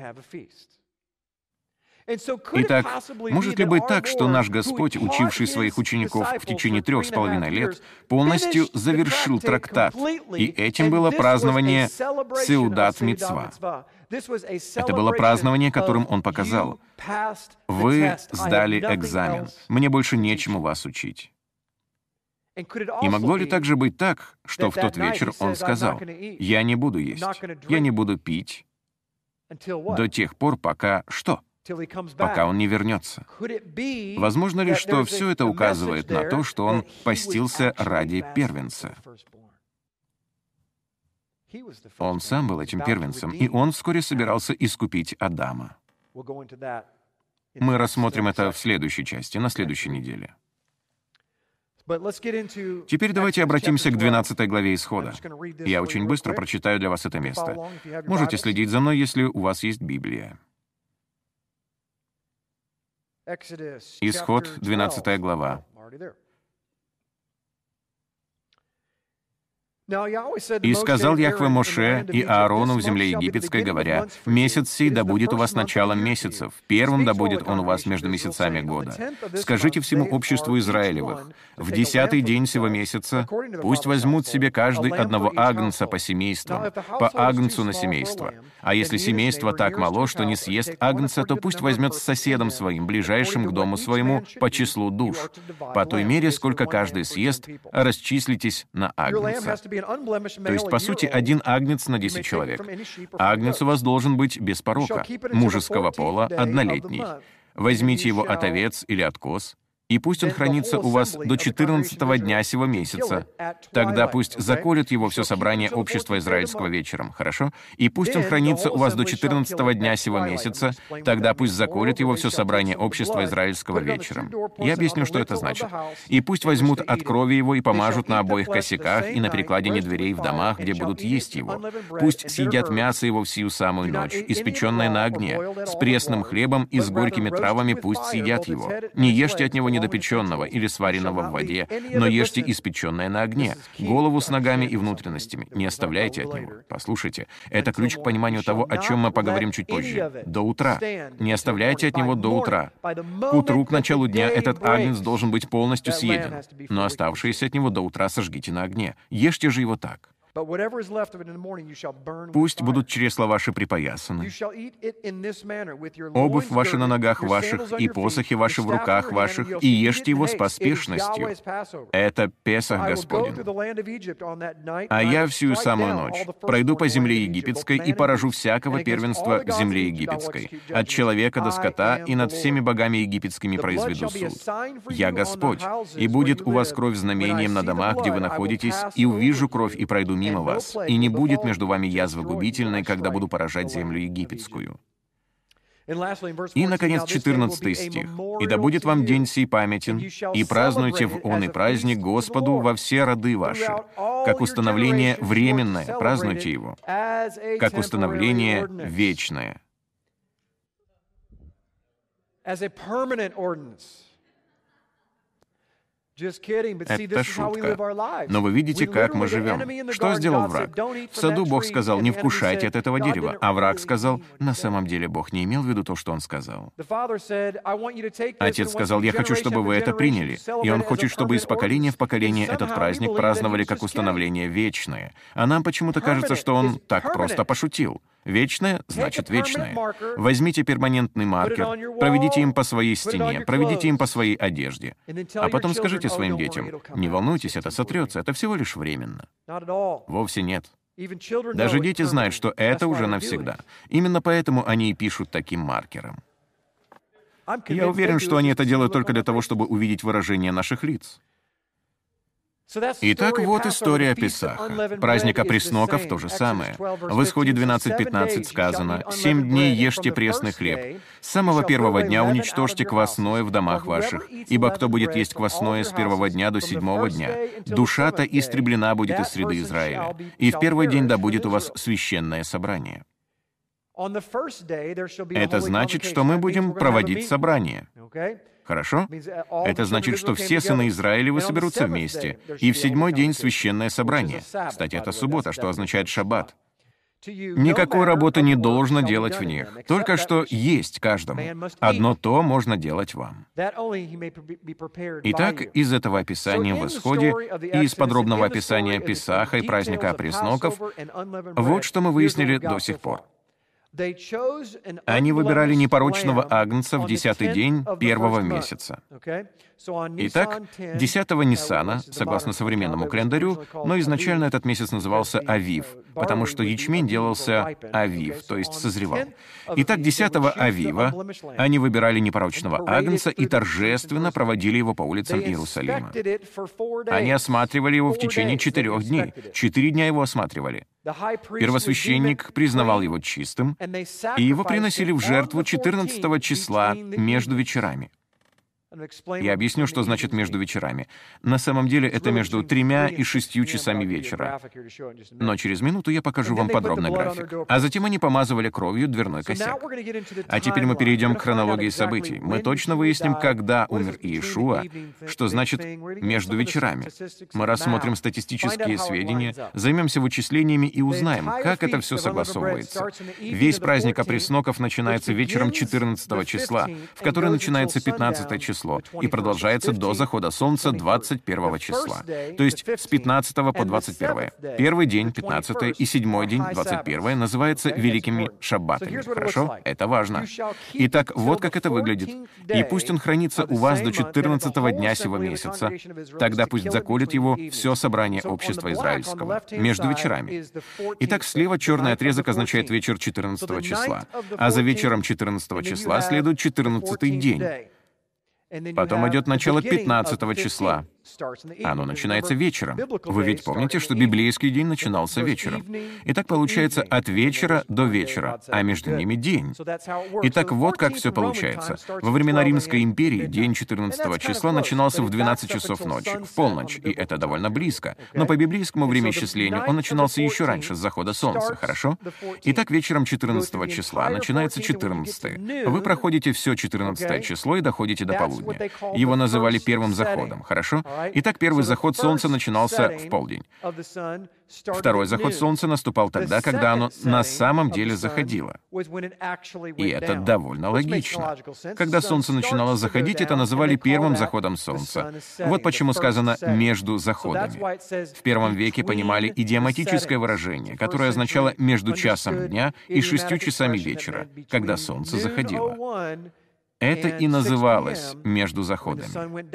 Итак, может ли быть так, что наш Господь, учивший своих учеников в течение трех с половиной лет, полностью завершил трактат, и этим было празднование Сеудат Мицва? Это было празднование, которым Он показал: «Вы сдали экзамен, мне больше нечему вас учить». И могло ли также быть так, что в тот вечер Он сказал: «Я не буду есть, я не буду пить до тех пор, пока что?» Пока он не вернется. Возможно ли, что все это указывает на то, что он постился ради первенца? Он сам был этим первенцем, и он вскоре собирался искупить Адама. Мы рассмотрим это в следующей части, на следующей неделе. Теперь давайте обратимся к двенадцатой главе Исхода. Я очень быстро прочитаю для вас это место. Можете следить за мной, если у вас есть Библия. Исход, двенадцатая глава. «И сказал Яхве Моше и Аарону в земле египетской, говоря: месяц сей да будет у вас началом месяцев, первым да будет он у вас между месяцами года. Скажите всему обществу Израилевых: в десятый день сего месяца пусть возьмут себе каждый одного агнца по семействам, по агнцу на семейство. А если семейство так мало, что не съест агнца, то пусть возьмет с соседом своим, ближайшим к дому своему, по числу душ. По той мере, сколько каждый съест, расчислитесь на агнца». То есть, по сути, один агнец на десять человек. Агнец у вас должен быть без порока, мужеского пола, однолетний. Возьмите его от овец или от коз, и пусть он хранится у вас до четырнадцатого дня сего месяца. Тогда пусть заколет его все собрание общества израильского вечером, хорошо? И пусть он хранится у вас до четырнадцатого дня сего месяца. Тогда пусть заколет его все собрание общества израильского вечером. Я объясню, что это значит. И пусть возьмут от крови его и помажут на обоих косяках и на перекладине дверей в домах, где будут есть его. Пусть съедят мясо его в сию самую ночь, испеченное на огне, с пресным хлебом и с горькими травами пусть съедят его. Не ешьте от него недопеченного или сваренного в воде, но ешьте испеченное на огне, голову с ногами и внутренностями. Не оставляйте от него. Послушайте, это ключ к пониманию того, о чем мы поговорим чуть позже. До утра. Не оставляйте от него до утра. К утру, к началу дня, этот агнец должен быть полностью съеден, но оставшиеся от него до утра сожгите на огне. Ешьте же его так. Пусть будут чресла ваши припоясаны, обувь ваша на ногах ваших и посохи ваши в руках ваших, и ешьте его с поспешностью. Это Песах Господень. А я всю самую ночь пройду по земле египетской и поражу всякого первенства в земле египетской, от человека до скота, и над всеми богами египетскими произведу суд. Я Господь, и будет у вас кровь знамением на домах, где вы находитесь, и увижу кровь и пройду мимо вас, и не будет между вами язвы губительной, когда буду поражать землю египетскую». И, наконец, четырнадцатый стих. «И да будет вам день сей памятен, и празднуйте в он и праздник Господу во все роды ваши, как установление временное, празднуйте его, как установление вечное». Это шутка. Но вы видите, как мы живем. Что сделал враг? В саду Бог сказал, не вкушайте от этого дерева. А враг сказал, на самом деле Бог не имел в виду то, что он сказал. Отец сказал, я хочу, чтобы вы это приняли. И он хочет, чтобы из поколения в поколение этот праздник праздновали как установление вечное. А нам почему-то кажется, что он так просто пошутил. Вечное значит вечное. Возьмите перманентный маркер, проведите им по своей стене, проведите им по своей одежде. А потом скажите своим детям, не волнуйтесь, это сотрется, это всего лишь временно. Вовсе нет. Даже дети знают, что это уже навсегда. Именно поэтому они и пишут таким маркером. Я уверен, что они это делают только для того, чтобы увидеть выражение наших лиц. Итак, вот история Песаха. Праздник опресноков — то же самое. В Исходе двенадцать пятнадцать сказано, «Семь дней ешьте пресный хлеб. С самого первого дня уничтожьте квасное в домах ваших, ибо кто будет есть квасное с первого дня до седьмого дня, душа-то истреблена будет из среды Израиля. И в первый день да будет у вас священное собрание». Это значит, что мы будем проводить собрание. Хорошо? Это значит, что все сыны Израилевы соберутся вместе, и в седьмой день священное собрание. Кстати, это суббота, что означает шаббат. Никакой работы не должно делать в них, только что есть каждому. Одно то можно делать вам. Итак, из этого описания в Исходе и из подробного описания Песаха и праздника опресноков, вот что мы выяснили до сих пор. Они выбирали непорочного агнца в десятый день первого месяца. Итак, десятого Ниссана, согласно современному календарю, но изначально этот месяц назывался Авив, потому что ячмень делался Авив, то есть созревал. Итак, десятого Авива они выбирали непорочного агнца и торжественно проводили его по улицам Иерусалима. Они осматривали его в течение четырех дней. Четыре дня его осматривали. Первосвященник признавал его чистым, и его приносили в жертву четырнадцатого числа между вечерами. Я объясню, что значит «между вечерами». На самом деле это между тремя и шестью часами вечера. Но через минуту я покажу вам подробный график. А затем они помазывали кровью дверной косяк. А теперь мы перейдем к хронологии событий. Мы точно выясним, когда умер Иешуа, что значит «между вечерами». Мы рассмотрим статистические сведения, займемся вычислениями и узнаем, как это все согласовывается. Весь праздник опресноков начинается вечером четырнадцатого числа, в который начинается пятнадцатое число, и продолжается до захода солнца двадцать первого числа. То есть с пятнадцатого по двадцать первое. Первый день, пятнадцатое, и седьмой день, двадцать первое, называются великими шаббатами. Хорошо? Это важно. Итак, вот как это выглядит. «И пусть он хранится у вас до четырнадцатого дня сего месяца, тогда пусть заколет его все собрание общества израильского, между вечерами». Итак, слева черный отрезок означает вечер четырнадцатого числа, а за вечером четырнадцатого числа следует четырнадцатый день. Потом идет начало пятнадцатого числа. Оно начинается вечером. Вы ведь помните, что библейский день начинался вечером. Итак, получается от вечера до вечера, а между ними день. Итак, вот как все получается. Во времена Римской империи день четырнадцатого числа начинался в двенадцать часов ночи, в полночь, и это довольно близко. Но по библейскому времяисчислению он начинался еще раньше, с захода солнца, хорошо? Итак, вечером четырнадцатого числа начинается четырнадцатое. Вы проходите все четырнадцатое число и доходите до полудня. Его называли первым заходом, хорошо? Итак, первый заход солнца начинался в полдень. Второй заход солнца наступал тогда, когда оно на самом деле заходило. И это довольно логично. Когда солнце начинало заходить, это называли первым заходом солнца. Вот почему сказано «между заходами». В первом веке понимали идиоматическое выражение, которое означало «между часом дня и шестью часами вечера», когда солнце заходило. Это и называлось «между заходами».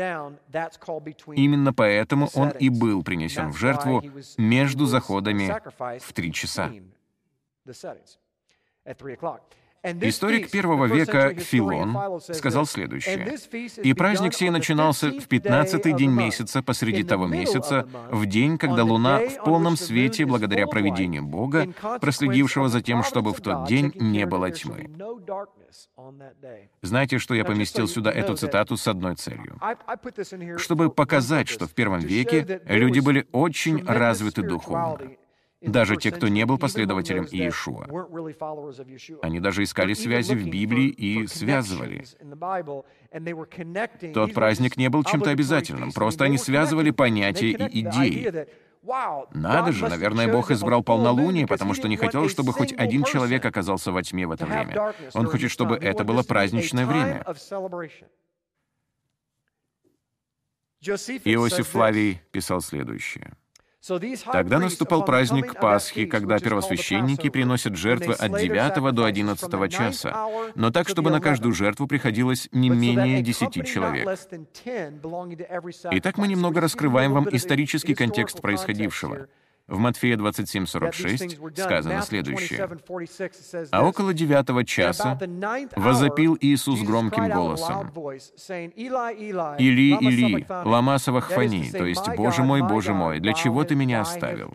Именно поэтому он и был принесен в жертву между заходами в три часа. Историк первого века Филон сказал следующее. «И праздник сей начинался в пятнадцатый день месяца посреди того месяца, в день, когда луна в полном свете, благодаря провидению Бога, проследившего за тем, чтобы в тот день не было тьмы». Знаете, что я поместил сюда эту цитату с одной целью? Чтобы показать, что в первом веке люди были очень развиты духовно. даже те, кто не был последователем Иешуа. Они даже искали связи в Библии и связывали. Тот праздник не был чем-то обязательным, просто они связывали понятия и идеи. Надо же, наверное, Бог избрал полнолуние, потому что не хотел, чтобы хоть один человек оказался во тьме в это время. Он хочет, чтобы это было праздничное время. Иосиф Флавий писал следующее. Тогда наступал праздник Пасхи, когда первосвященники приносят жертвы от девятого до одиннадцатого часа, но так, чтобы на каждую жертву приходилось не менее десяти человек. Итак, мы немного раскрываем вам исторический контекст происходившего. В Матфея двадцать семь сорок шесть сказано следующее. «А около девятого часа возопил Иисус громким голосом: Или, Или, лама савахфани, то есть, Боже мой, Боже мой, для чего ты меня оставил?»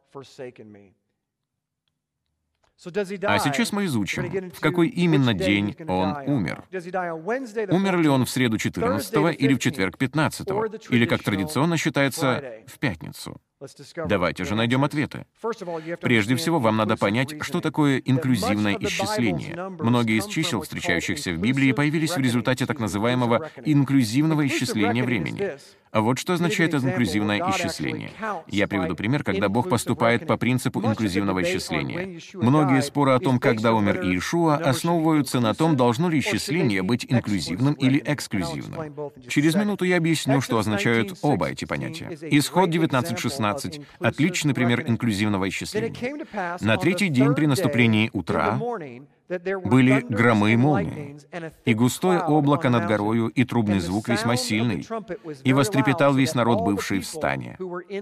А сейчас мы изучим, в какой именно день он умер. Умер ли он в среду четырнадцатого или в четверг пятнадцатого, или, как традиционно считается, в пятницу? Давайте же найдем ответы. Прежде всего, вам надо понять, что такое инклюзивное исчисление. Многие из чисел, встречающихся в Библии, появились в результате так называемого инклюзивного исчисления времени. А вот что означает инклюзивное исчисление. Я приведу пример, когда Бог поступает по принципу инклюзивного исчисления. Многие споры о том, когда умер Иешуа, основываются на том, должно ли исчисление быть инклюзивным или эксклюзивным. Через минуту я объясню, что означают оба эти понятия. Исход девятнадцать шестнадцать — отличный пример инклюзивного исчисления. На третий день при наступлении утра были громы и молнии, и густое облако над горою, и трубный звук весьма сильный, и вострепетал весь народ, бывший в стане.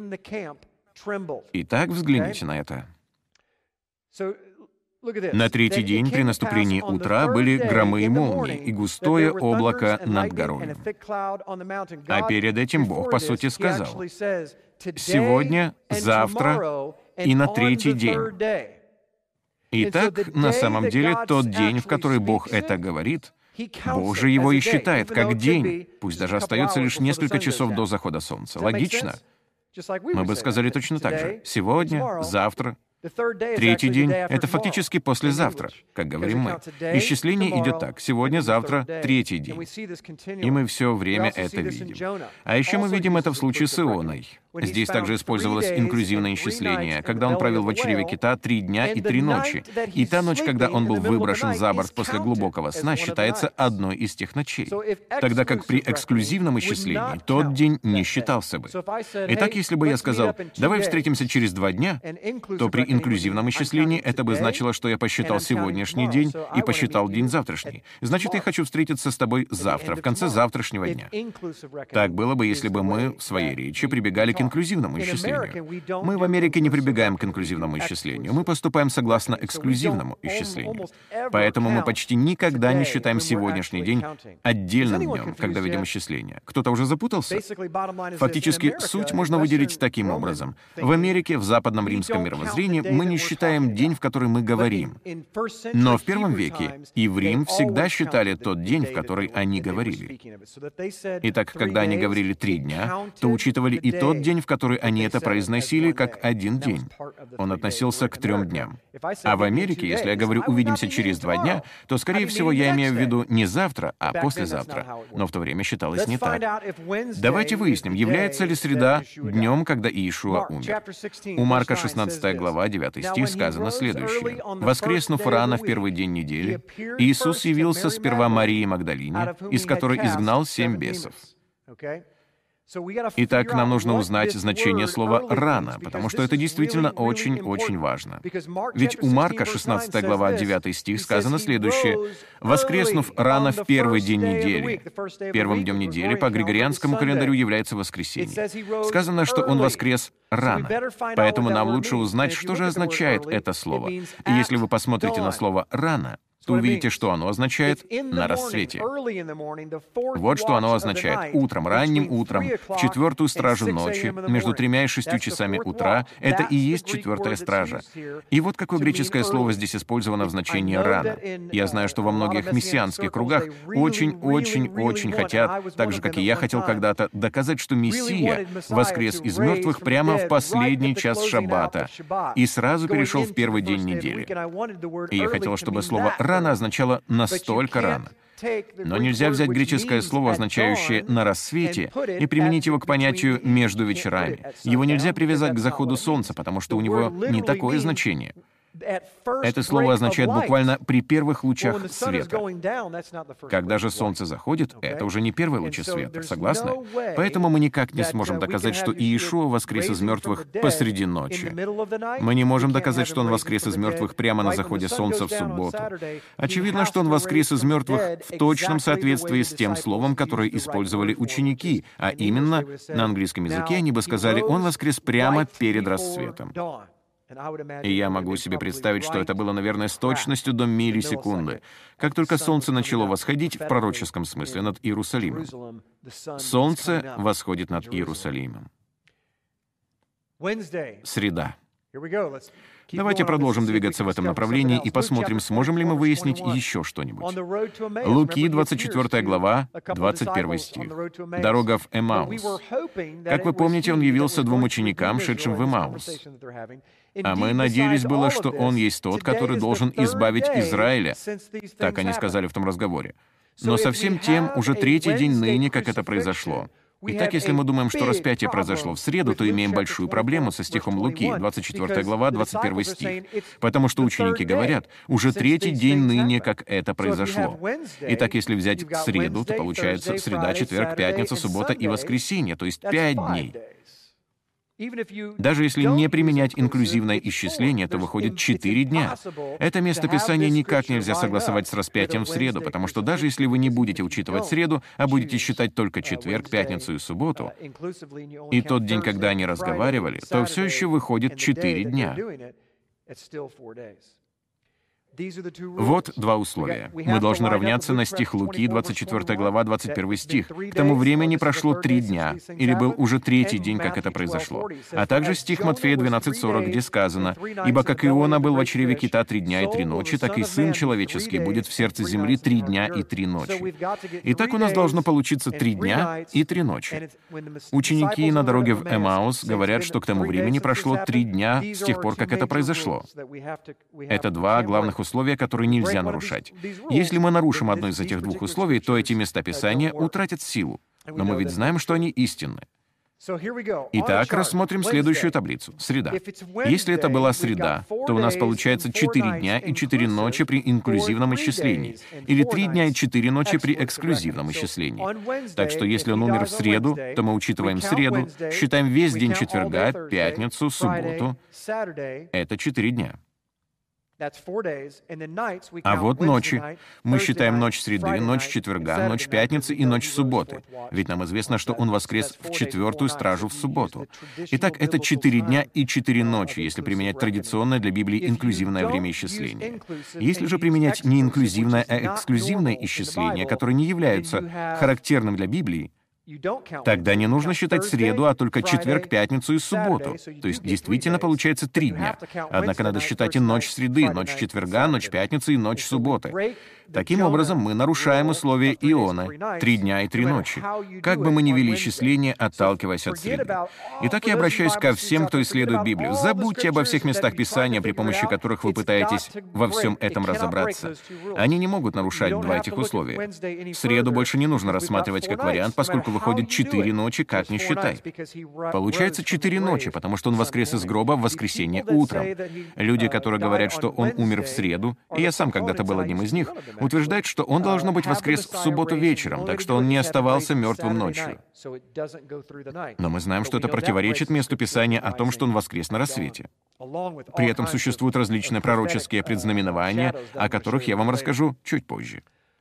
Итак, взгляните на это. На третий день при наступлении утра были громы и молнии, и густое облако над горою. А перед этим Бог, по сути, сказал: «Сегодня, завтра и на третий день». Итак, на самом деле, тот день, в который Бог это говорит, Бог же его и считает как день, пусть даже остается лишь несколько часов до захода солнца. Логично? Мы бы сказали точно так же. Сегодня, завтра, третий день — это фактически послезавтра, как говорим мы. Исчисление идет так: сегодня, завтра, третий день. И мы все время это видим. А еще мы видим это в случае с Ионой. Здесь также использовалось инклюзивное исчисление, когда он провел в чреве кита три дня и три ночи. И та ночь, когда он был выброшен за борт после глубокого сна, считается одной из тех ночей. Тогда как при эксклюзивном исчислении тот день не считался бы. Итак, если бы я сказал: «Давай встретимся через два дня», то при инклюзивном исчислении это бы значило, что я посчитал сегодняшний день и посчитал день завтрашний. Значит, я хочу встретиться с тобой завтра, в конце завтрашнего дня. Так было бы, если бы мы в своей речи прибегали к инклюзивному исчислению. Мы в Америке не прибегаем к инклюзивному исчислению. Мы поступаем согласно эксклюзивному исчислению. Поэтому мы почти никогда не считаем сегодняшний день отдельным днем, когда ведем исчисление. Кто-то уже запутался? Фактически, суть можно выделить таким образом. В Америке, в западном римском мировоззрении, мы не считаем день, в который мы говорим. Но в первом веке и в Рим всегда считали тот день, в который они говорили. Итак, когда они говорили «три дня», то учитывали и тот день, в который они это произносили, как один день. Он относился к трем дням. А в Америке, если я говорю «увидимся через два дня», то, скорее всего, я имею в виду не завтра, а послезавтра. Но в то время считалось не так. Давайте выясним, является ли среда днем, когда Иешуа умер. У Марка шестнадцатая глава, девятый стих, сказано следующее. «Воскреснув рано в первый день недели, Иисус явился сперва Марии Магдалине, из которой изгнал семь бесов». Итак, нам нужно узнать значение слова «рано», потому что это действительно очень-очень важно. Ведь у Марка, шестнадцатая глава, девятый стих, сказано следующее. «Воскреснув рано в первый день недели». Первым днем недели по григорианскому календарю является воскресенье. Сказано, что он воскрес рано. Поэтому нам лучше узнать, что же означает это слово. И если вы посмотрите на слово «рано», то увидите, что оно означает «на рассвете». Вот что оно означает. Утром, ранним утром, в четвертую стражу ночи, между тремя и шестью часами утра, это и есть четвертая стража. И вот какое греческое слово здесь использовано в значении «рано». Я знаю, что во многих мессианских кругах очень-очень-очень хотят, так же, как и я хотел когда-то, доказать, что Мессия воскрес из мертвых прямо в последний час шаббата и сразу перешел в первый день недели. И я хотел, чтобы слово «рано» означало «настолько рано». Но нельзя взять греческое слово, означающее «на рассвете», и применить его к понятию «между вечерами». Его нельзя привязать к заходу солнца, потому что у него не такое значение. Это слово означает буквально «при первых лучах света». Когда же солнце заходит, это уже не первые лучи света, согласны? Поэтому мы никак не сможем доказать, что Иешуа воскрес из мертвых посреди ночи. Мы не можем доказать, что Он воскрес из мертвых прямо на заходе солнца в субботу. Очевидно, что Он воскрес из мертвых в точном соответствии с тем словом, которое использовали ученики, а именно, на английском языке они бы сказали «Он воскрес прямо перед рассветом». И я могу себе представить, что это было, наверное, с точностью до миллисекунды. Как только солнце начало восходить, в пророческом смысле, над Иерусалимом. Солнце восходит над Иерусалимом. Среда. Давайте продолжим двигаться в этом направлении и посмотрим, сможем ли мы выяснить еще что-нибудь. Луки, двадцать четвёртая глава, двадцать первый стих. Дорога в Эмаус. Как вы помните, он явился двум ученикам, шедшим в Эмаус. А мы надеялись было, что он есть тот, который должен избавить Израиля. Так они сказали в том разговоре. Но совсем тем уже третий день ныне, как это произошло. Итак, если мы думаем, что распятие произошло в среду, то имеем большую проблему со стихом Луки, двадцать четвёртая глава, двадцать первый стих. Потому что ученики говорят, уже третий день ныне, как это произошло. Итак, если взять среду, то получается среда, четверг, пятница, суббота и воскресенье, то есть пять дней. Даже если не применять инклюзивное исчисление, то выходит четыре дня. Это местописание никак нельзя согласовать с распятием в среду, потому что даже если вы не будете учитывать среду, а будете считать только четверг, пятницу и субботу, и тот день, когда они разговаривали, то все еще выходит четыре дня. Вот два условия. Мы должны равняться на стих Луки, двадцать четвёртая глава, двадцать первый стих. К тому времени прошло три дня, или был уже третий день, как это произошло. А также стих Матфея двенадцать сорок, где сказано, «Ибо как Иона был в чреве кита три дня и три ночи, так и Сын Человеческий будет в сердце земли три дня и три ночи». Итак, у нас должно получиться три дня и три ночи. Ученики на дороге в Эмаус говорят, что к тому времени прошло три дня с тех пор, как это произошло. Это два главных условия, условия, которые нельзя нарушать. Если мы нарушим одно из этих двух условий, то эти местописания утратят силу. Но мы ведь знаем, что они истинны. Итак, рассмотрим следующую таблицу. Среда. Если это была среда, то у нас получается четыре дня и четыре ночи при инклюзивном исчислении, или три дня и четыре ночи при эксклюзивном исчислении. Так что если он умер в среду, то мы учитываем среду, считаем весь день четверга, пятницу, субботу. Это четыре дня. А вот ночи. Мы считаем ночь среды, ночь четверга, ночь пятницы и ночь субботы. Ведь нам известно, что он воскрес в четвертую стражу в субботу. Итак, это четыре дня и четыре ночи, если применять традиционное для Библии инклюзивное время исчисления. Если же применять не инклюзивное, а эксклюзивное исчисление, которые не являются характерным для Библии, тогда не нужно считать среду, а только четверг, пятницу и субботу. То есть действительно получается три дня. Однако надо считать и ночь среды, ночь четверга, ночь пятницы и ночь субботы. Таким образом, мы нарушаем условия Ионы — три дня и три ночи. Как бы мы ни вели исчисление, отталкиваясь от среды. Итак, я обращаюсь ко всем, кто исследует Библию. Забудьте обо всех местах Писания, при помощи которых вы пытаетесь во всем этом разобраться. Они не могут нарушать два этих условия. Среду больше не нужно рассматривать как вариант, поскольку выходит четыре ночи, как ни считай. Получается четыре ночи, потому что он воскрес из гроба в воскресенье утром. Люди, которые говорят, что он умер в среду, и я сам когда-то был одним из них, утверждает, что он, должно быть, воскрес в субботу вечером, так что он не оставался мертвым ночью. Но мы знаем, что это противоречит месту Писания о том, что он воскрес на рассвете. При этом существуют различные пророческие предзнаменования, о которых я вам расскажу чуть позже.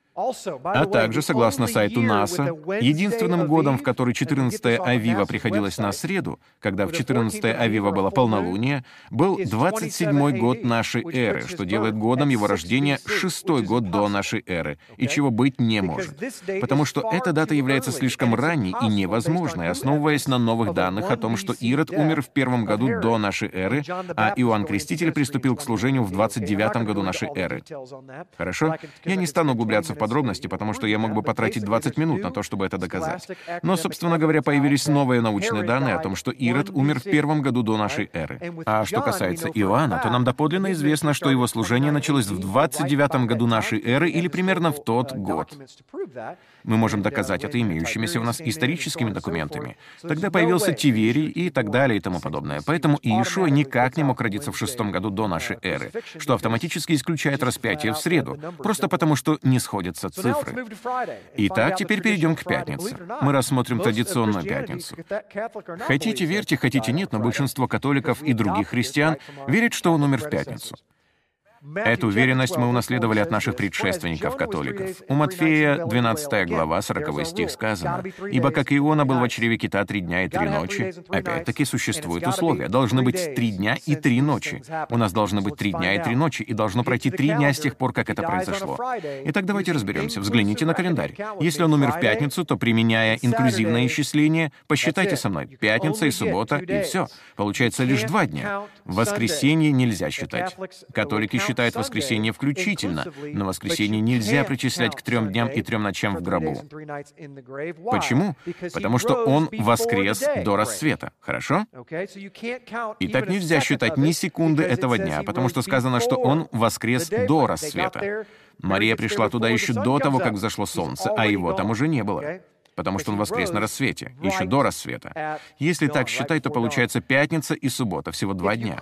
А также, согласно сайту НАСА, единственным годом, в который четырнадцатое Авива приходилось на среду, когда в четырнадцатое Авива было полнолуние, был двадцать седьмой год нашей эры, что делает годом его рождения шестой год до нашей эры, и чего быть не может. Потому что эта дата является слишком ранней и невозможной, основываясь на новых данных о том, что Ирод умер в первом году до нашей эры, а Иоанн Креститель приступил к служению в двадцать девятом году нашей эры. Хорошо? Я не стану углубляться в подробности, потому что я мог бы потратить двадцать минут на то, чтобы это доказать. Но, собственно говоря, появились новые научные данные о том, что Ирод умер в первом году до нашей эры. А что касается Иоанна, то нам доподлинно известно, что его служение началось в двадцать девятом году нашей эры или примерно в тот год. Мы можем доказать это имеющимися у нас историческими документами. Тогда появился Тиверий и так далее и тому подобное. Поэтому Иешуа никак не мог родиться в шестом году до нашей эры, что автоматически исключает распятие в среду, просто потому что не сходятся цифры. Итак, теперь перейдем к пятнице. Мы рассмотрим традиционную пятницу. Хотите верьте, хотите нет, но большинство католиков и других христиан верят, что он умер в пятницу. Эту уверенность мы унаследовали от наших предшественников-католиков. У Матфея, двенадцатая глава, сороковой стих сказано: «Ибо как Иона был в чреве кита три дня и три ночи». Опять-таки существуют условия. Должны быть три дня и три ночи. У нас должны быть три дня и три ночи, и должно пройти три дня с тех пор, как это произошло. Итак, давайте разберемся. Взгляните на календарь. Если он умер в пятницу, то, применяя инклюзивное исчисление, посчитайте со мной. Пятница и суббота, и все. Получается лишь два дня. В воскресенье нельзя считать. Католики считают воскресенье включительно, но воскресенье нельзя причислять к трем дням и трем ночам в гробу. Почему? Потому что он воскрес до рассвета. Хорошо? Итак, нельзя считать ни секунды этого дня, потому что сказано, что он воскрес до рассвета. Мария пришла туда еще до того, как взошло солнце, а его там уже не было. Потому что он воскрес на рассвете, еще до рассвета. Если так считать, то получается пятница и суббота, всего два дня.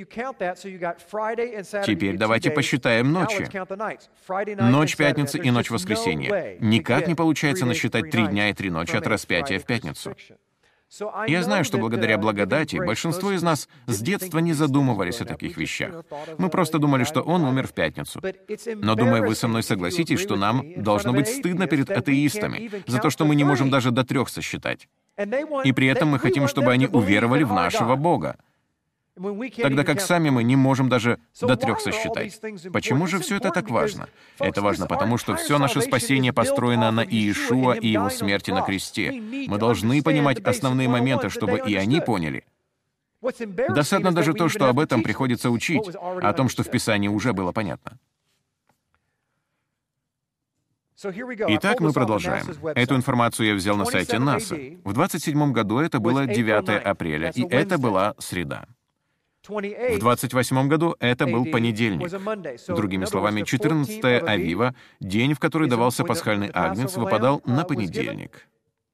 Теперь давайте посчитаем ночи. Ночь пятницы и ночь воскресенья. Никак не получается насчитать три дня и три ночи от распятия в пятницу. Я знаю, что благодаря благодати большинство из нас с детства не задумывались о таких вещах. Мы просто думали, что он умер в пятницу. Но, думаю, вы со мной согласитесь, что нам должно быть стыдно перед атеистами за то, что мы не можем даже до трех сосчитать. И при этом мы хотим, чтобы они уверовали в нашего Бога, тогда как сами мы не можем даже до трех сосчитать. Почему же все это так важно? Это важно потому, что все наше спасение построено на Иешуа и его смерти на кресте. Мы должны понимать основные моменты, чтобы и они поняли. Досадно даже то, что об этом приходится учить, о том, что в Писании уже было понятно. Итак, мы продолжаем. Эту информацию я взял на сайте НАСА. В двадцать седьмом году это было девятое апреля, и это была среда. В двадцать восьмом году это был понедельник. Другими словами, четырнадцатое Авива, день, в который давался пасхальный агнец, выпадал на понедельник.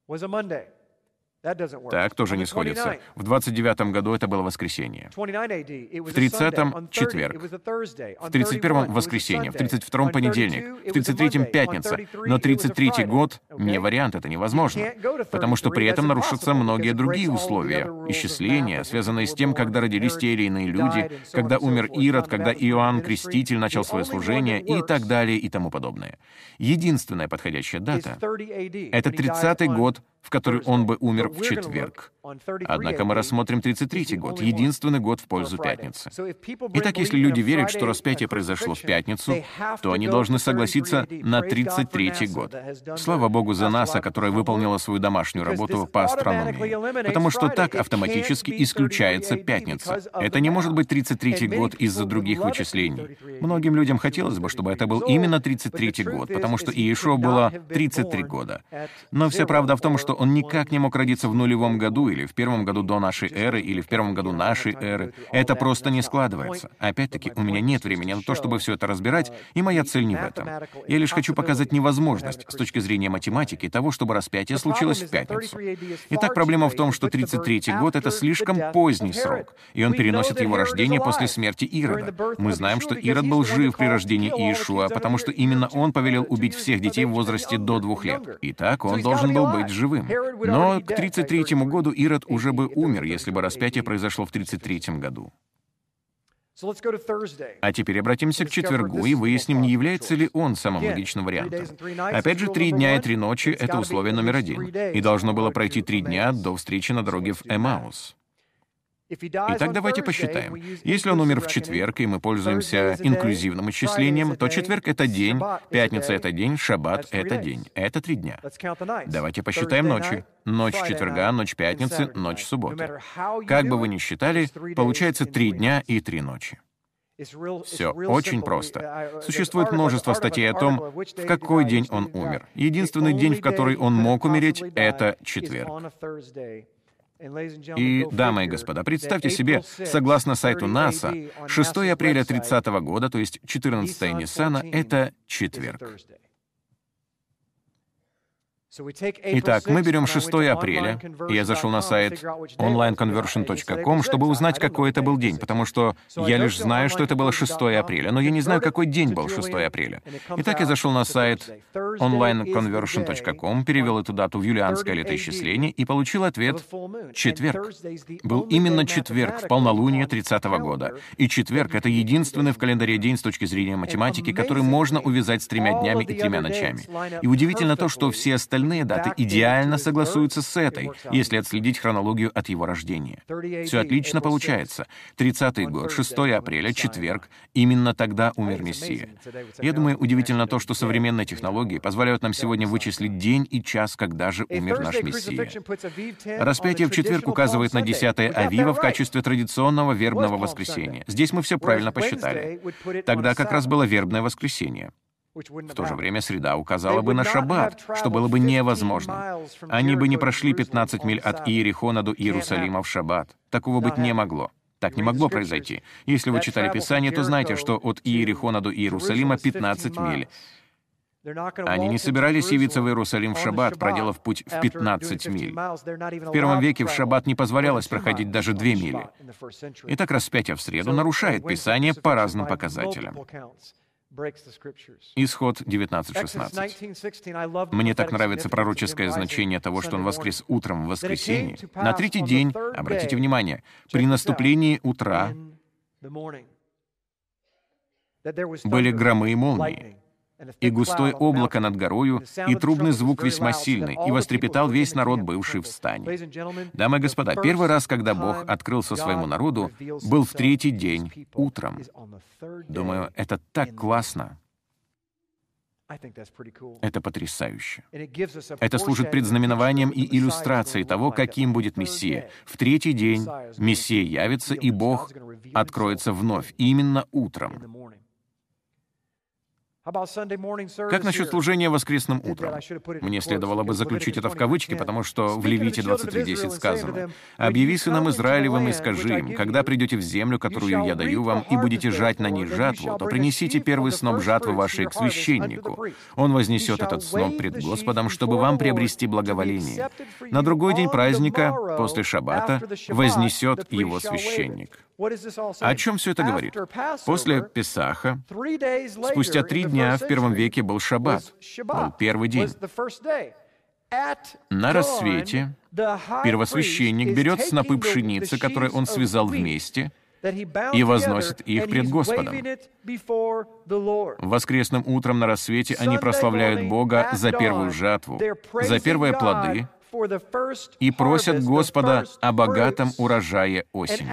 Так тоже не сходится. В двадцать девятом году это было воскресенье. В тридцатом — четверг. В тридцать первом — воскресенье. В тридцать втором — понедельник. В тридцать третьем — пятница. Но тридцать третий год — не вариант, это невозможно. Потому что при этом нарушатся многие другие условия. Исчисления, связанные с тем, когда родились те или иные люди, когда умер Ирод, когда Иоанн Креститель начал свое служение и так далее и тому подобное. Единственная подходящая дата — это тридцатый год, в который он бы умер в четверг. Однако мы рассмотрим тридцать третий год, единственный год в пользу пятницы. Итак, если люди верят, что распятие произошло в пятницу, то они должны согласиться на тридцать третий год. Слава Богу за НАСА, которая выполнила свою домашнюю работу по астрономии. Потому что так автоматически исключается пятница. Это не может быть тридцать третий год из-за других вычислений. Многим людям хотелось бы, чтобы это был именно тридцать третий год, потому что Иешуа было тридцать три года. Но вся правда в том, что он никак не мог родиться в нулевом году, или в первом году до нашей эры, или в первом году нашей эры. Это просто не складывается. Опять-таки, у меня нет времени на то, чтобы все это разбирать, и моя цель не в этом. Я лишь хочу показать невозможность с точки зрения математики того, чтобы распятие случилось в пятницу. Итак, проблема в том, что тридцать третий год — это слишком поздний срок, и он переносит его рождение после смерти Ирода. Мы знаем, что Ирод был жив при рождении Иешуа, потому что именно он повелел убить всех детей в возрасте до двух лет. Итак, он должен был быть живым. Но к тридцать третьему году Ирод уже бы умер, если бы распятие произошло в тридцать третьем году. А теперь обратимся к четвергу и выясним, не является ли он самым логичным вариантом. Опять же, три дня и три ночи — это условие номер один. И должно было пройти три дня до встречи на дороге в Эмаус. Итак, давайте посчитаем. Если он умер в четверг, и мы пользуемся инклюзивным исчислением, то четверг — это день, пятница — это день, шаббат — это день. Это три дня. Давайте посчитаем ночи. Ночь четверга, ночь пятницы, ночь субботы. Как бы вы ни считали, получается три дня и три ночи. Все очень просто. Существует множество статей о том, в какой день он умер. Единственный день, в который он мог умереть, — это четверг. И, дамы и господа, представьте себе, согласно сайту НАСА, шестое апреля тридцатого года, то есть четырнадцатое Ниссана, это четверг. Итак, мы берем шестое апреля, и я зашел на сайт онлайн конвершн точка ком, чтобы узнать, какой это был день, потому что я лишь знаю, что это было шестое апреля, но я не знаю, какой день был шестое апреля. Итак, я зашел на сайт онлайн конвершн точка ком, перевел эту дату в юлианское летоисчисление и получил ответ — четверг. Был именно четверг в полнолуние тридцатого года. И четверг — это единственный в календаре день с точки зрения математики, который можно увязать с тремя днями и тремя ночами. И удивительно то, что все остальные Остальные даты идеально согласуются с этой, если отследить хронологию от его рождения. Все отлично получается. тридцатый год, шестое апреля, четверг, именно тогда умер Мессия. Я думаю, удивительно то, что современные технологии позволяют нам сегодня вычислить день и час, когда же умер наш Мессия. Распятие в четверг указывает на десятое Авива в качестве традиционного вербного воскресения. Здесь мы все правильно посчитали. Тогда как раз было вербное воскресенье. В то же время среда указала бы на шаббат, что было бы невозможно. Они бы не прошли пятнадцать миль от Иерихона до Иерусалима в шаббат. Такого быть не могло. Так не могло произойти. Если вы читали Писание, то знаете, что от Иерихона до Иерусалима пятнадцать миль. Они не собирались явиться в Иерусалим в шаббат, проделав путь в пятнадцать миль. В первом веке в шаббат не позволялось проходить даже две мили. Итак, распятие в среду нарушает Писание по разным показателям. Исход девятнадцать шестнадцать. Мне так нравится пророческое значение того, что он воскрес утром в воскресенье. На третий день, обратите внимание, при наступлении утра были громы и молнии, и густое облако над горою, и трубный звук весьма сильный, и вострепетал весь народ, бывший в стане. Дамы и господа, первый раз, когда Бог открылся своему народу, был в третий день, утром. Думаю, это так классно. Это потрясающе. Это служит предзнаменованием и иллюстрацией того, каким будет Мессия. В третий день Мессия явится, и Бог откроется вновь, именно утром. Как насчет служения воскресным утром? Мне следовало бы заключить это в кавычки, потому что в Левите двадцать три десять сказано: «Объяви сынам Израилевым и скажи им, когда придете в землю, которую я даю вам, и будете жать на ней жатву, то принесите первый сноп жатвы вашей к священнику. Он вознесет этот сноп пред Господом, чтобы вам приобрести благоволение. На другой день праздника, после шаббата, вознесет его священник». О чем все это говорит? После Песаха, спустя три дня в первом веке был шаббат, был первый день. На рассвете первосвященник берет снопы пшеницы, которые он связал вместе, и возносит их пред Господом. Воскресным утром на рассвете они прославляют Бога за первую жатву, за первые плоды, и просят Господа о богатом урожае осенью.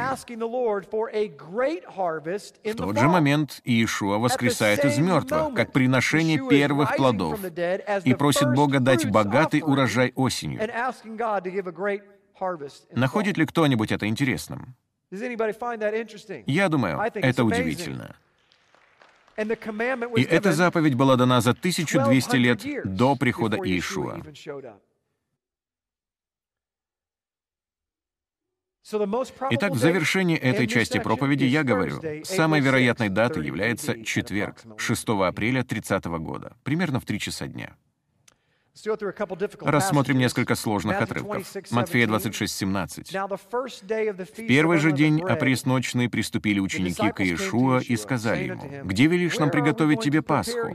В тот же момент Иешуа воскресает из мертвых, как приношение первых плодов, и просит Бога дать богатый урожай осенью. Находит ли кто-нибудь это интересным? Я думаю, это удивительно. И эта заповедь была дана за тысячу двести лет до прихода Иешуа. Итак, в завершении этой части проповеди я говорю, самой вероятной датой является четверг, шестое апреля тридцатого года, примерно в три часа дня. Рассмотрим несколько сложных отрывков. Матфея двадцать шесть семнадцать. «В первый же день опресночный приступили ученики к Иешуа и сказали ему: „Где велишь нам приготовить тебе Пасху?“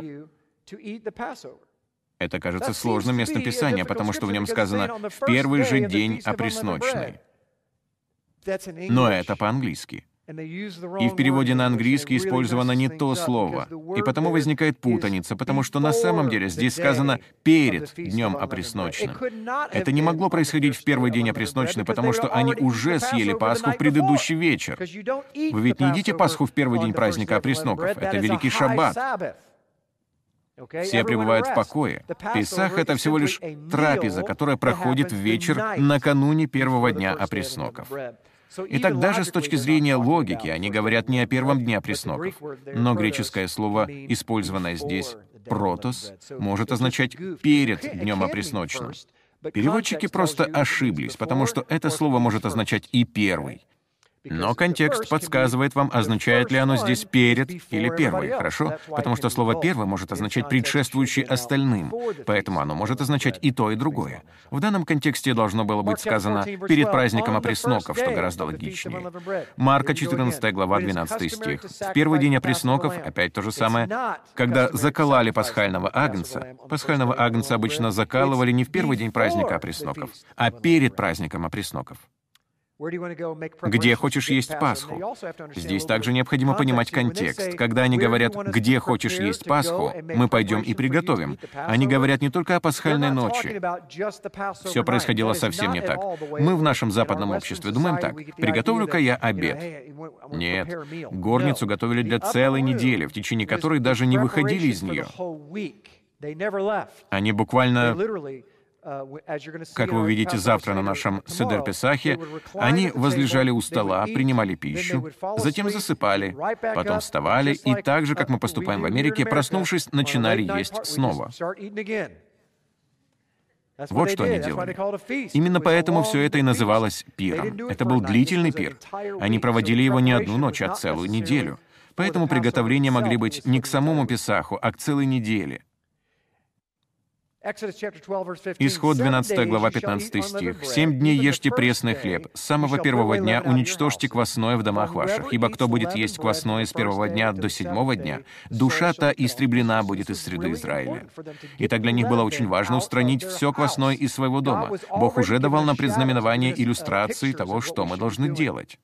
Это кажется сложным местом Писания, потому что в нем сказано «в первый же день опресночный». Но это по-английски. И в переводе на английский использовано не то слово. И потому возникает путаница, потому что на самом деле здесь сказано «перед днем опресночным». Это не могло происходить в первый день опресночный, потому что они уже съели Пасху в предыдущий вечер. Вы ведь не едите Пасху в первый день праздника опресноков. Это Великий Шаббат. Все пребывают в покое. Песах — это всего лишь трапеза, которая проходит в вечер накануне первого дня опресноков. Итак, даже с точки зрения логики, они говорят не о первом дне опресноков. Но греческое слово, использованное здесь, «протос», может означать «перед днем опресночным». Переводчики просто ошиблись, потому что это слово может означать и «первый». Но контекст подсказывает вам, означает ли оно здесь «перед» или «первый», хорошо? Потому что слово «первый» может означать «предшествующий остальным», поэтому оно может означать и то, и другое. В данном контексте должно было быть сказано «перед праздником опресноков», что гораздо логичнее. Марка, четырнадцатая глава, двенадцатый стих. В первый день опресноков, опять то же самое, когда закололи пасхального агнца, пасхального агнца обычно закалывали не в первый день праздника опресноков, а перед праздником опресноков. Где хочешь есть Пасху? Здесь также необходимо понимать контекст. Когда они говорят «где хочешь есть Пасху», мы пойдем и приготовим. Они говорят не только о пасхальной ночи. Все происходило совсем не так. Мы в нашем западном обществе думаем так: «Приготовлю-ка я обед». Нет, горницу готовили для целой недели, в течение которой даже не выходили из нее. Они буквально... Как вы увидите завтра на нашем Седер Песахе, они возлежали у стола, принимали пищу, затем засыпали, потом вставали, и так же, как мы поступаем в Америке, проснувшись, начинали есть снова. Вот что они делали. Именно поэтому все это и называлось пиром. Это был длительный пир. Они проводили его не одну ночь, а целую неделю. Поэтому приготовления могли быть не к самому Песаху, а к целой неделе. Исход двенадцатая глава, пятнадцатый стих. «Семь дней ешьте пресный хлеб, с самого первого дня уничтожьте квасное в домах ваших, ибо кто будет есть квасное с первого дня до седьмого дня, душа та истреблена будет из среды Израиля». Итак, для них было очень важно устранить все квасное из своего дома. Бог уже давал нам предзнаменование иллюстрации того, что мы должны делать.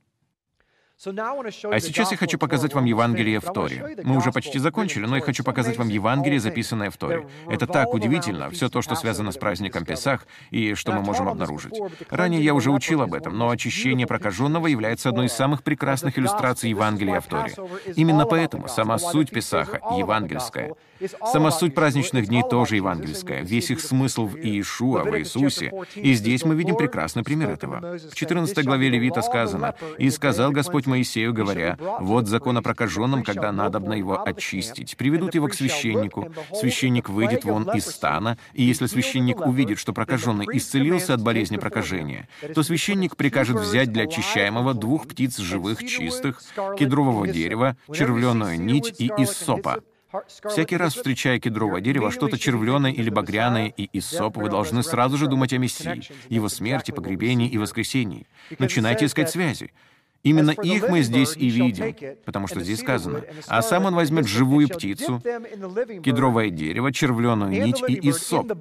А сейчас я хочу показать вам Евангелие в Торе. Мы уже почти закончили, но я хочу показать вам Евангелие, записанное в Торе. Это так удивительно, все то, что связано с праздником Песах, и что мы можем обнаружить. Ранее я уже учил об этом, но очищение прокаженного является одной из самых прекрасных иллюстраций Евангелия в Торе. Именно поэтому сама суть Песаха евангельская. Сама суть праздничных дней тоже евангельская. Весь их смысл в Иешуа, в Иисусе. И здесь мы видим прекрасный пример этого. В четырнадцатой главе Левита сказано: «И сказал Господь Моисею, говоря: вот закон о прокаженном, когда надобно его очистить. Приведут его к священнику. Священник выйдет вон из стана, и если священник увидит, что прокаженный исцелился от болезни прокажения, то священник прикажет взять для очищаемого двух птиц живых, чистых, кедрового дерева, червленую нить и иссопа». Всякий раз, встречая кедровое дерево, что-то червленое или багряное и иссоп, вы должны сразу же думать о Мессии, его смерти, погребении и воскресении. Начинайте искать связи. Именно их мы здесь и видим, потому что здесь сказано: «А сам он возьмет живую птицу, кедровое дерево, червленую нить и иссоп,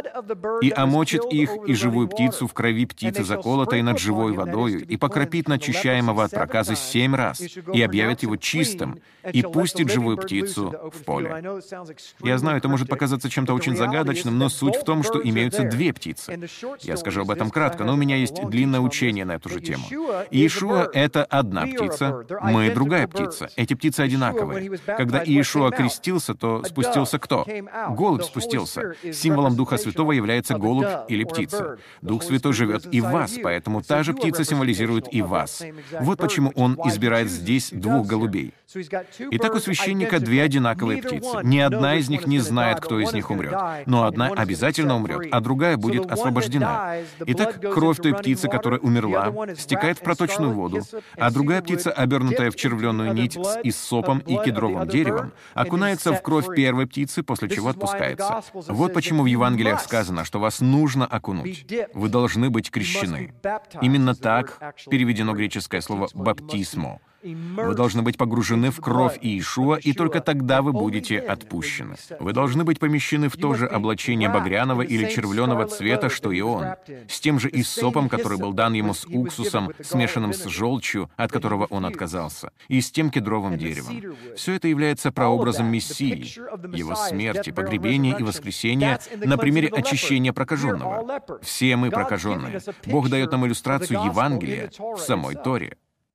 и омочит их и живую птицу в крови птицы, заколотой над живой водою, и покропит начищаемого от проказы семь раз, и объявит его чистым, и пустит живую птицу в поле». Я знаю, это может показаться чем-то очень загадочным, но суть в том, что имеются две птицы. Я скажу об этом кратко, но у меня есть длинное учение на эту же тему. Иешуа — это Это одна птица, мы — другая птица. Эти птицы одинаковые. Когда Иешуа крестился, то спустился кто? Голубь спустился. Символом Духа Святого является голубь или птица. Дух Святой живет и в вас, поэтому та же птица символизирует и вас. Вот почему Он избирает здесь двух голубей. Итак, у священника две одинаковые птицы. Ни одна из них не знает, кто из них умрет. Но одна обязательно умрет, а другая будет освобождена. Итак, кровь той птицы, которая умерла, стекает в проточную воду, а другая птица, обернутая в червленую нить с иссопом и кедровым деревом, окунается в кровь первой птицы, после чего отпускается. Вот почему в Евангелиях сказано, что вас нужно окунуть. Вы должны быть крещены. Именно так переведено греческое слово «баптисмо». Вы должны быть погружены в кровь Иешуа, и только тогда вы будете отпущены. Вы должны быть помещены в то же облачение багряного или червленого цвета, что и он, с тем же иссопом, который был дан ему с уксусом, смешанным с желчью, от которого он отказался, и с тем кедровым деревом. Все это является прообразом Мессии, его смерти, погребения и воскресения на примере очищения прокаженного. Все мы прокаженные. Бог дает нам иллюстрацию Евангелия в самой Торе.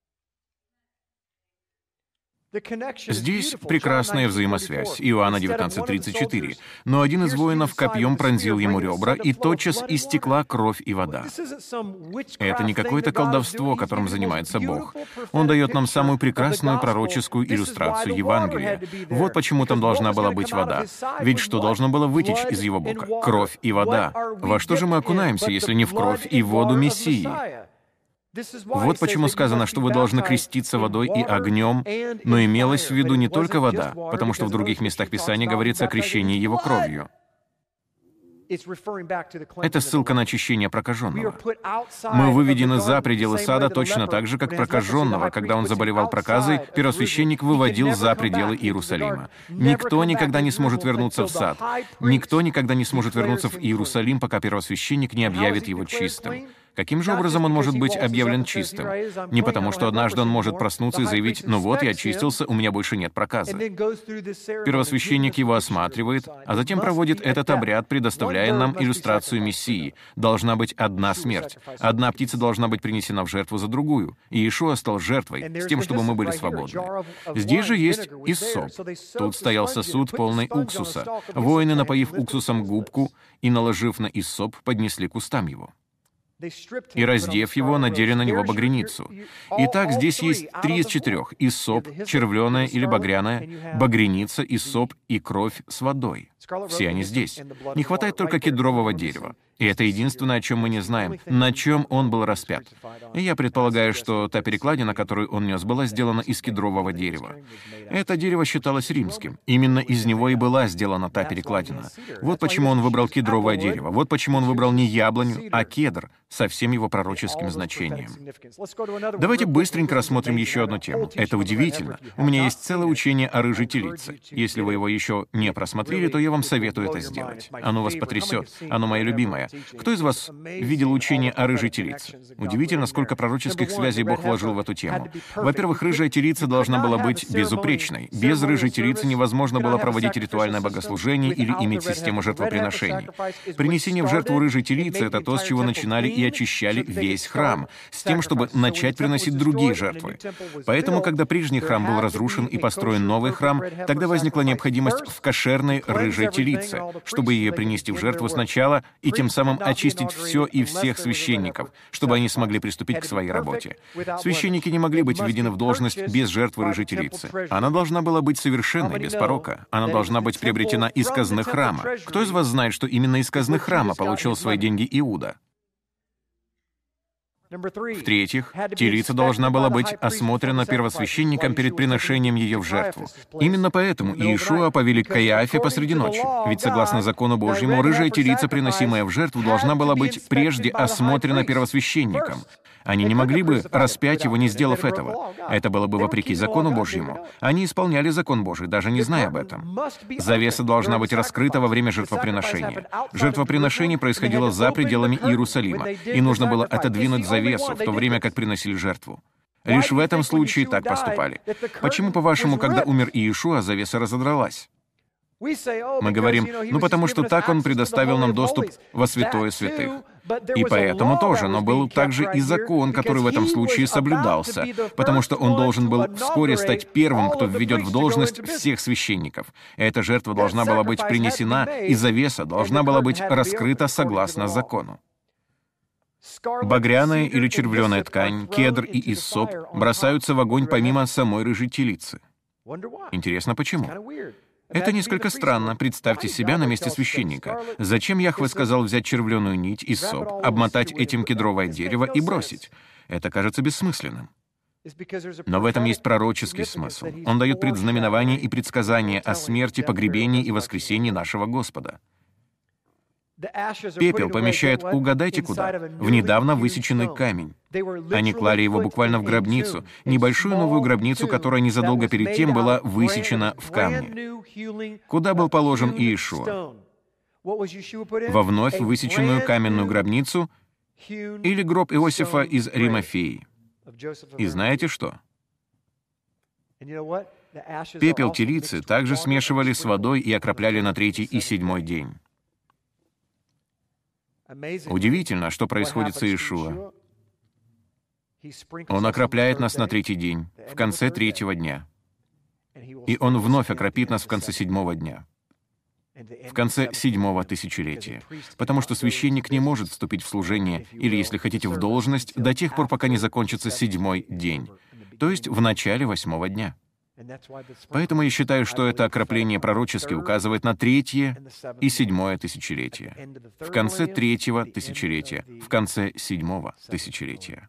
Здесь прекрасная взаимосвязь. Иоанна девятнадцать тридцать четыре. «Но один из воинов копьем пронзил ему ребра, и тотчас истекла кровь и вода». Это не какое-то колдовство, которым занимается Бог. Он дает нам самую прекрасную пророческую иллюстрацию Евангелия. Вот почему там должна была быть вода. Ведь что должно было вытечь из его бока? Кровь и вода. Во что же мы окунаемся, если не в кровь и воду Мессии? Вот почему сказано, что вы должны креститься водой и огнем, но имелось в виду не только вода, потому что в других местах Писания говорится о крещении его кровью. Это ссылка на очищение прокаженного. Мы выведены за пределы сада точно так же, как прокаженного. Когда он заболевал проказой, первосвященник выводил за пределы Иерусалима. Никто никогда не сможет вернуться в сад. Никто никогда не сможет вернуться в Иерусалим, пока первосвященник не объявит его чистым. Каким же образом он может быть объявлен чистым? Не потому, что однажды он может проснуться и заявить: «Ну вот, я очистился, у меня больше нет проказа». Первосвященник его осматривает, а затем проводит этот обряд, предоставляя нам иллюстрацию Мессии. Должна быть одна смерть. Одна птица должна быть принесена в жертву за другую. И Иешуа стал жертвой, с тем, чтобы мы были свободны. Здесь же есть иссоп. Тут стоял сосуд, полный уксуса. Воины, напоив уксусом губку и наложив на иссоп, поднесли к устам его. И, раздев его, надели на него багряницу. Итак, здесь есть три из четырех: иссоп, червленая или багряная, багряница, иссоп и кровь с водой. Все они здесь. Не хватает только кедрового дерева. И это единственное, о чем мы не знаем, на чем он был распят. И я предполагаю, что та перекладина, которую он нес, была сделана из кедрового дерева. Это дерево считалось римским. Именно из него и была сделана та перекладина. Вот почему он выбрал кедровое дерево. Вот почему он выбрал не яблоню, а кедр, со всем его пророческим значением. Давайте быстренько рассмотрим еще одну тему. Это удивительно. У меня есть целое учение о рыжей телице. Если вы его еще не просмотрели, то я вам советую это сделать. Оно вас потрясет. Оно мое любимое. Кто из вас видел учение о рыжей телице? Удивительно, сколько пророческих связей Бог вложил в эту тему. Во-первых, рыжая телица должна была быть безупречной. Без рыжей телицы невозможно было проводить ритуальное богослужение или иметь систему жертвоприношений. Принесение в жертву рыжей телицы — это то, с чего начинали и очищали весь храм, с тем, чтобы начать приносить другие жертвы. Поэтому, когда прежний храм был разрушен и построен новый храм, тогда возникла необходимость в кошерной рыжей телице, чтобы ее принести в жертву сначала и тем самым очистить все и всех священников, чтобы они смогли приступить к своей работе. Священники не могли быть введены в должность без жертвы рыжей телицы. Она должна была быть совершенной, без порока. Она должна быть приобретена из казны храма. Кто из вас знает, что именно из казны храма получил свои деньги Иуда? В-третьих, телица должна была быть осмотрена первосвященником перед приношением ее в жертву. Именно поэтому Иешуа повели к Каиафе посреди ночи. Ведь согласно закону Божьему, рыжая телица, приносимая в жертву, должна была быть прежде осмотрена первосвященником. Они не могли бы распять его, не сделав этого. Это было бы вопреки закону Божьему. Они исполняли закон Божий, даже не зная об этом. Завеса должна быть раскрыта во время жертвоприношения. Жертвоприношение происходило за пределами Иерусалима, и нужно было отодвинуть завесу, в то время как приносили жертву. Лишь в этом случае так поступали. Почему, по-вашему, когда умер Иешуа, завеса разодралась? Мы говорим: ну потому что так он предоставил нам доступ во святое святых. И поэтому тоже, но был также и закон, который в этом случае соблюдался, потому что он должен был вскоре стать первым, кто введет в должность всех священников. Эта жертва должна была быть принесена, и завеса должна была быть раскрыта согласно закону. Багряная или червленая ткань, кедр и иссоп бросаются в огонь помимо самой рыжей телицы. Интересно, почему? Это несколько странно. Представьте себя на месте священника. Зачем Яхве сказал взять червленую нить и соп, обмотать этим кедровое дерево и бросить? Это кажется бессмысленным. Но в этом есть пророческий смысл. Он дает предзнаменование и предсказание о смерти, погребении и воскресении нашего Господа. Пепел помещает, угадайте куда, в недавно высеченный камень. Они клали его буквально в гробницу, небольшую новую гробницу, которая незадолго перед тем была высечена в камне. Куда был положен Иешуа? Во вновь высеченную каменную гробницу или гроб Иосифа из Римафеи? И знаете что? Пепел телицы также смешивали с водой и окропляли на третий и седьмой день. Удивительно, что происходит с Иешуа. Он окропляет нас на третий день, в конце третьего дня. И Он вновь окропит нас в конце седьмого дня, в конце седьмого тысячелетия. Потому что священник не может вступить в служение, или, если хотите, в должность, до тех пор, пока не закончится седьмой день, то есть в начале восьмого дня. Поэтому я считаю, что это окропление пророчески указывает на третье и седьмое тысячелетие, в конце третьего тысячелетия, в конце седьмого тысячелетия.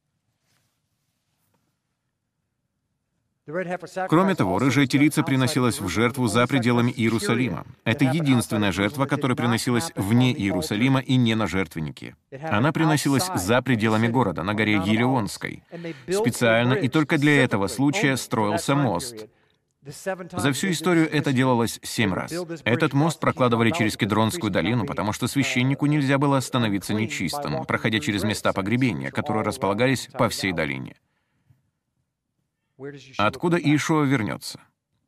Кроме того, рыжая телица приносилась в жертву за пределами Иерусалима. Это единственная жертва, которая приносилась вне Иерусалима и не на жертвеннике. Она приносилась за пределами города, на горе Елеонской. Специально и только для этого случая строился мост. За всю историю это делалось семь раз. Этот мост прокладывали через Кедронскую долину, потому что священнику нельзя было становиться нечистым, проходя через места погребения, которые располагались по всей долине. Откуда Иешуа вернется?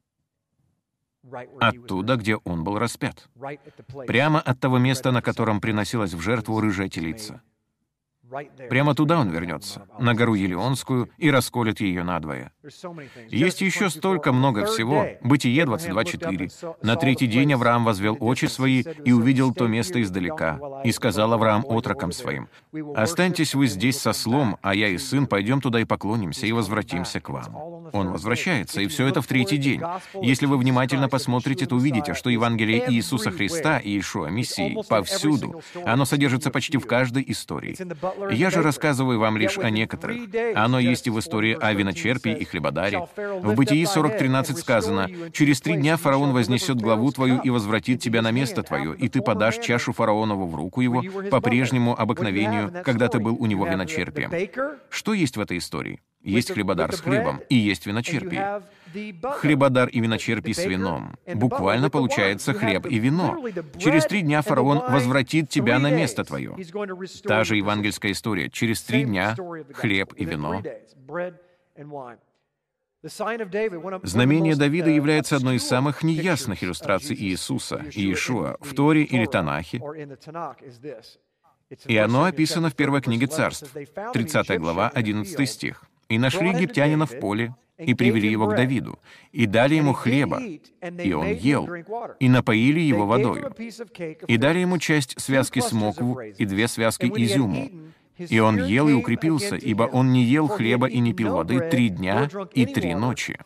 Оттуда, где он был распят. Прямо от того места, на котором приносилась в жертву рыжая телица. Прямо туда он вернется, на гору Елеонскую, и расколет ее надвое. Есть еще столько много всего. Бытие двадцать два четыре. «На третий день Авраам возвел очи свои и увидел то место издалека. И сказал Авраам отрокам своим: останьтесь вы здесь со слом, а я и сын пойдем туда и поклонимся, и возвратимся к вам». Он возвращается, и все это в третий день. Если вы внимательно посмотрите, то увидите, что Евангелие Иисуса Христа, Иешуа, Мессии, повсюду. Оно содержится почти в каждой истории. Я же рассказываю вам лишь о некоторых. Оно есть и в истории о виночерпии и хлебодаре. В Бытии сорок тринадцать сказано: «Через три дня фараон вознесет главу твою и возвратит тебя на место твое, и ты подашь чашу фараонову в руку его по прежнему обыкновению, когда ты был у него виночерпием». Что есть в этой истории? Есть хлебодар с хлебом, и есть виночерпие. Хлебодар и виночерпий с вином. Буквально получается хлеб и вино. Через три дня фараон возвратит тебя на место твое. Та же евангельская история. Через три дня хлеб и вино. Знамение Давида является одной из самых неясных иллюстраций Иисуса, Иешуа, в Торе или Танахе. И оно описано в первой книге Царств, тридцатая глава, одиннадцатый стих. «И нашли египтянина в поле, и привели его к Давиду, и дали ему хлеба, и он ел, и напоили его водою, и дали ему часть связки смокву и две связки изюму. И он ел и укрепился, ибо он не ел хлеба и не пил воды три дня и три ночи».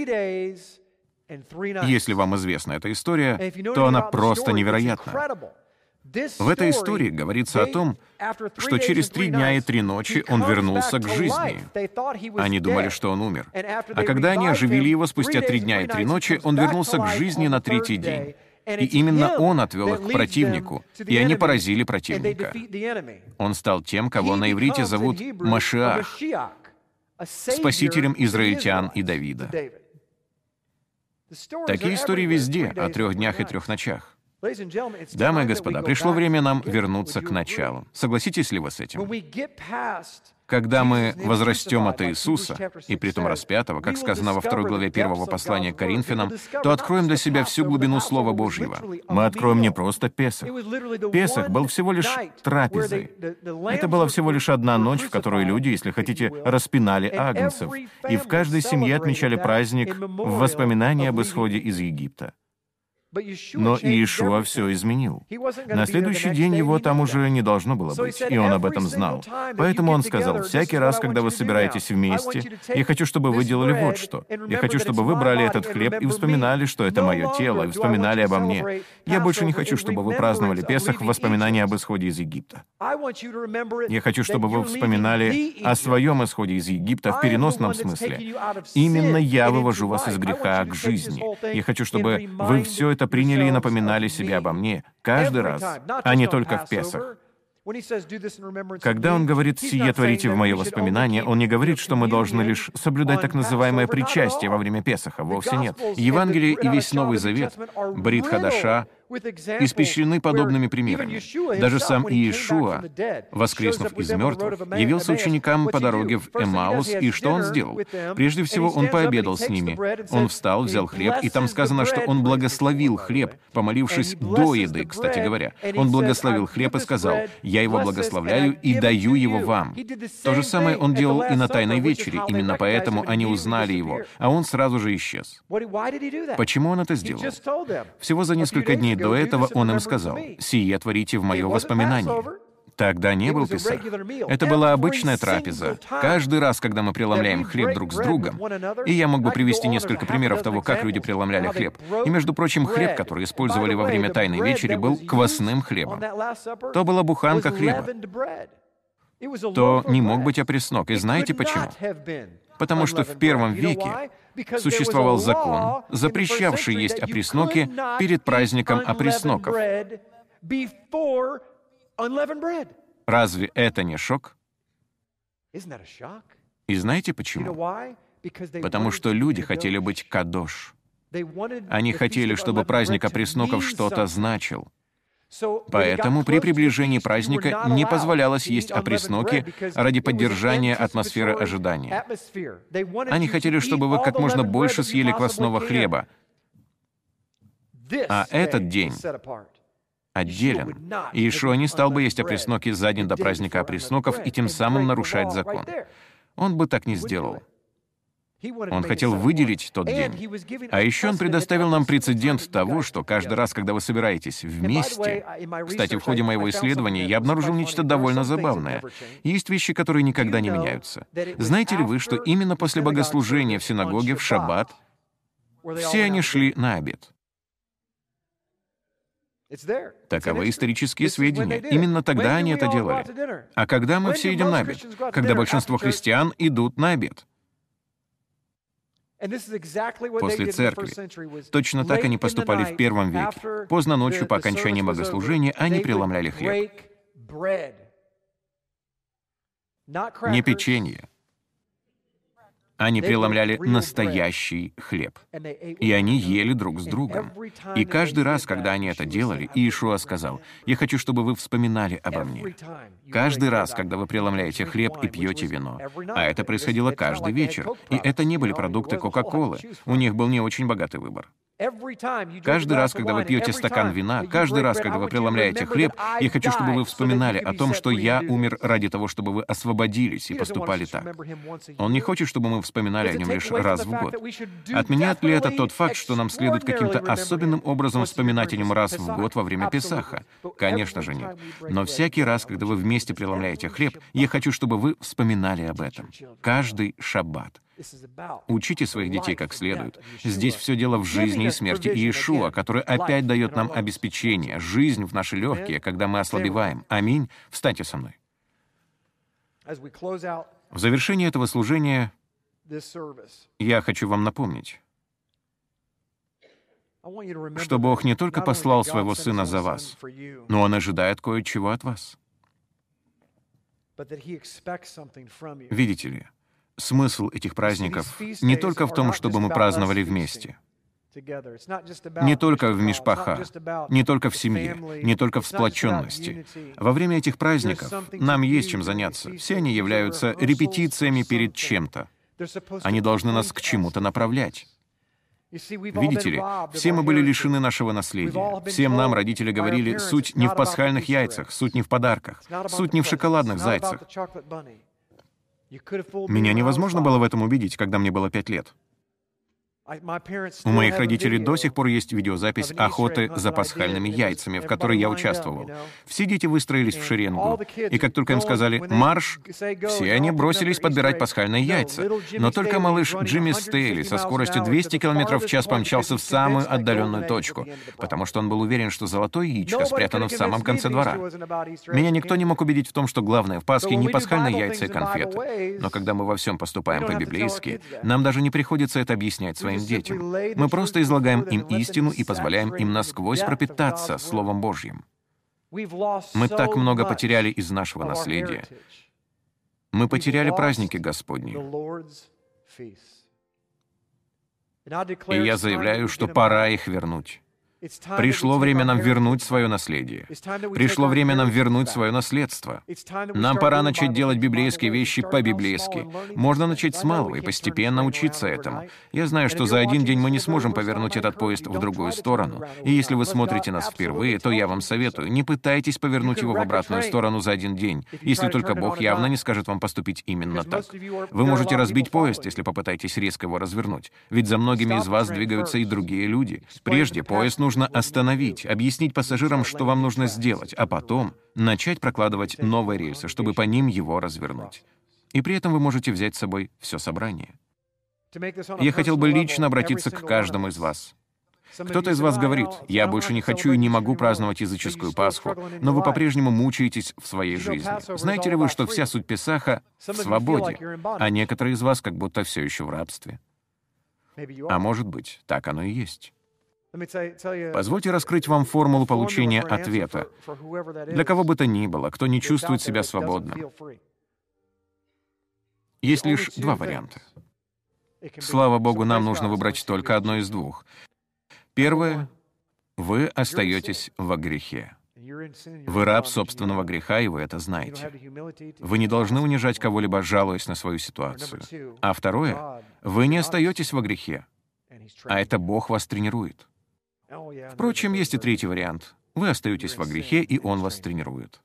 Если вам известна эта история, то она просто невероятна. В этой истории говорится о том, что через три дня и три ночи он вернулся к жизни. Они думали, что он умер. А когда они оживили его спустя три дня и три ночи, он вернулся к жизни на третий день. И именно он отвел их к противнику, и они поразили противника. Он стал тем, кого на иврите зовут Машиах, спасителем израильтян и Давида. Такие истории везде, о трех днях и трех ночах. Дамы и господа, пришло время нам вернуться к началу. Согласитесь ли вы с этим? Когда мы возрастем от Иисуса, и притом распятого, как сказано во второй главе первого послания к Коринфянам, то откроем для себя всю глубину Слова Божьего. Мы откроем не просто Песах. Песах был всего лишь трапезой. Это была всего лишь одна ночь, в которой люди, если хотите, распинали агнцев, и в каждой семье отмечали праздник в воспоминании об исходе из Египта. Но Иешуа все изменил. На следующий день его там уже не должно было быть, и он об этом знал. Поэтому он сказал: «Всякий раз, когда вы собираетесь вместе, я хочу, чтобы вы делали вот что. Я хочу, чтобы вы брали этот хлеб и вспоминали, что это мое тело, и вспоминали обо мне. Я больше не хочу, чтобы вы праздновали Песах в воспоминании об исходе из Египта. Я хочу, чтобы вы вспоминали о своем исходе из Египта в переносном смысле. Именно я вывожу вас из греха к жизни. Я хочу, чтобы вы все это это приняли и напоминали себе обо мне каждый раз, а не только в Песах. Когда он говорит «сие творите в мое воспоминание», он не говорит, что мы должны лишь соблюдать так называемое причастие во время Песаха. Вовсе нет. Евангелие и весь Новый Завет, Брит Хадаша, испещрены подобными примерами. Даже сам Иешуа, воскреснув из мертвых, явился ученикам по дороге в Эммаус, и что он сделал? Прежде всего, он пообедал с ними. Он встал, взял хлеб, и там сказано, что он благословил хлеб, помолившись до еды, кстати говоря. Он благословил хлеб и сказал: «Я его благословляю и даю его вам». То же самое он делал и на Тайной вечере, именно поэтому они узнали его, а он сразу же исчез. Почему он это сделал? Всего за несколько дней до этого он им сказал: «Сие творите в мое воспоминание». Тогда не был Песах. Это была обычная трапеза. Каждый раз, когда мы преломляем хлеб друг с другом, и я мог бы привести несколько примеров того, как люди преломляли хлеб. И, между прочим, хлеб, который использовали во время Тайной вечери, был квасным хлебом. То была буханка хлеба. То не мог быть опреснок. И знаете почему? Потому что в первом веке существовал закон, запрещавший есть опресноки перед праздником опресноков. Разве это не шок? И знаете почему? Потому что люди хотели быть кадош. Они хотели, чтобы праздник опресноков что-то значил. Поэтому при приближении праздника не позволялось есть опресноки ради поддержания атмосферы ожидания. Они хотели, чтобы вы как можно больше съели квасного хлеба. А этот день отделен. Иешуа не стал бы есть опресноки за день до праздника опресноков и тем самым нарушать закон. Он бы так не сделал. Он хотел выделить тот день. А еще он предоставил нам прецедент того, что каждый раз, когда вы собираетесь вместе... Кстати, в ходе моего исследования я обнаружил нечто довольно забавное. Есть вещи, которые никогда не меняются. Знаете ли вы, что именно после богослужения в синагоге в шаббат все они шли на обед? Таковы исторические сведения. Именно тогда они это делали. А когда мы все идем на обед? Когда большинство христиан идут на обед. После церкви. Точно так они поступали в первом веке. Поздно ночью по окончании богослужения они преломляли хлеб. Не печенье. Они преломляли настоящий хлеб. И они ели друг с другом. И каждый раз, когда они это делали, Иешуа сказал: «Я хочу, чтобы вы вспоминали обо мне». Каждый раз, когда вы преломляете хлеб и пьете вино. А это происходило каждый вечер. И это не были продукты Кока-Колы. У них был не очень богатый выбор. Каждый раз, когда вы пьете стакан вина, каждый раз, когда вы преломляете хлеб, я хочу, чтобы вы вспоминали о том, что я умер ради того, чтобы вы освободились и поступали так. Он не хочет, чтобы мы вспоминали о нем лишь раз в год. Отменяет ли это тот факт, что нам следует каким-то особенным образом вспоминать о нем раз в год во время Песаха? Конечно же нет. Но всякий раз, когда вы вместе преломляете хлеб, я хочу, чтобы вы вспоминали об этом. Каждый шаббат. Учите своих детей как следует. Здесь все дело в жизни и смерти Иешуа, который опять дает нам обеспечение, жизнь в наши легкие, когда мы ослабеваем. Аминь. Встаньте со мной. В завершении этого служения я хочу вам напомнить, что Бог не только послал Своего Сына за вас, но Он ожидает кое-чего от вас. Видите ли, смысл этих праздников не только в том, чтобы мы праздновали вместе, не только в мишпаха, не только в семье, не только в сплоченности. Во время этих праздников нам есть чем заняться. Все они являются репетициями перед чем-то. Они должны нас к чему-то направлять. Видите ли, все мы были лишены нашего наследия. Всем нам родители говорили: суть не в пасхальных яйцах, суть не в подарках, суть не в шоколадных зайцах. Меня невозможно было в этом убедить, когда мне было пять лет. У моих родителей до сих пор есть видеозапись охоты за пасхальными яйцами, в которой я участвовал. Все дети выстроились в шеренгу, и как только им сказали «марш», все они бросились подбирать пасхальные яйца. Но только малыш Джимми Стейли со скоростью двести километров в час помчался в самую отдаленную точку, потому что он был уверен, что золотое яичко спрятано в самом конце двора. Меня никто не мог убедить в том, что главное в Пасхе не пасхальные яйца и конфеты. Но когда мы во всем поступаем по-библейски, нам даже не приходится это объяснять своим своим детям. Мы просто излагаем им истину и позволяем им насквозь пропитаться Словом Божьим. Мы так много потеряли из нашего наследия. Мы потеряли праздники Господни. И я заявляю, что пора их вернуть. Пришло время нам вернуть свое наследие. Пришло время нам вернуть свое наследство. Нам пора начать делать библейские вещи по-библейски. Можно начать с малого и постепенно учиться этому. Я знаю, что за один день мы не сможем повернуть этот поезд в другую сторону. И если вы смотрите нас впервые, то я вам советую, не пытайтесь повернуть его в обратную сторону за один день, если только Бог явно не скажет вам поступить именно так. Вы можете разбить поезд, если попытаетесь резко его развернуть. Ведь за многими из вас двигаются и другие люди. Прежде поезд нужно Нужно остановить, объяснить пассажирам, что вам нужно сделать, а потом начать прокладывать новые рельсы, чтобы по ним его развернуть. И при этом вы можете взять с собой все собрание. Я хотел бы лично обратиться к каждому из вас. Кто-то из вас говорит: «Я больше не хочу и не могу праздновать языческую Пасху», но вы по-прежнему мучаетесь в своей жизни. Знаете ли вы, что вся суть Песаха в свободе, а некоторые из вас как будто все еще в рабстве? А может быть, так оно и есть. Позвольте раскрыть вам формулу получения ответа. Для кого бы то ни было, кто не чувствует себя свободным. Есть лишь два варианта. Слава Богу, нам нужно выбрать только одно из двух. Первое — вы остаетесь во грехе. Вы раб собственного греха, и вы это знаете. Вы не должны унижать кого-либо, жалуясь на свою ситуацию. А второе — вы не остаетесь во грехе, а это Бог вас тренирует. Впрочем, есть и третий вариант. Вы остаетесь во грехе, и Он вас тренирует.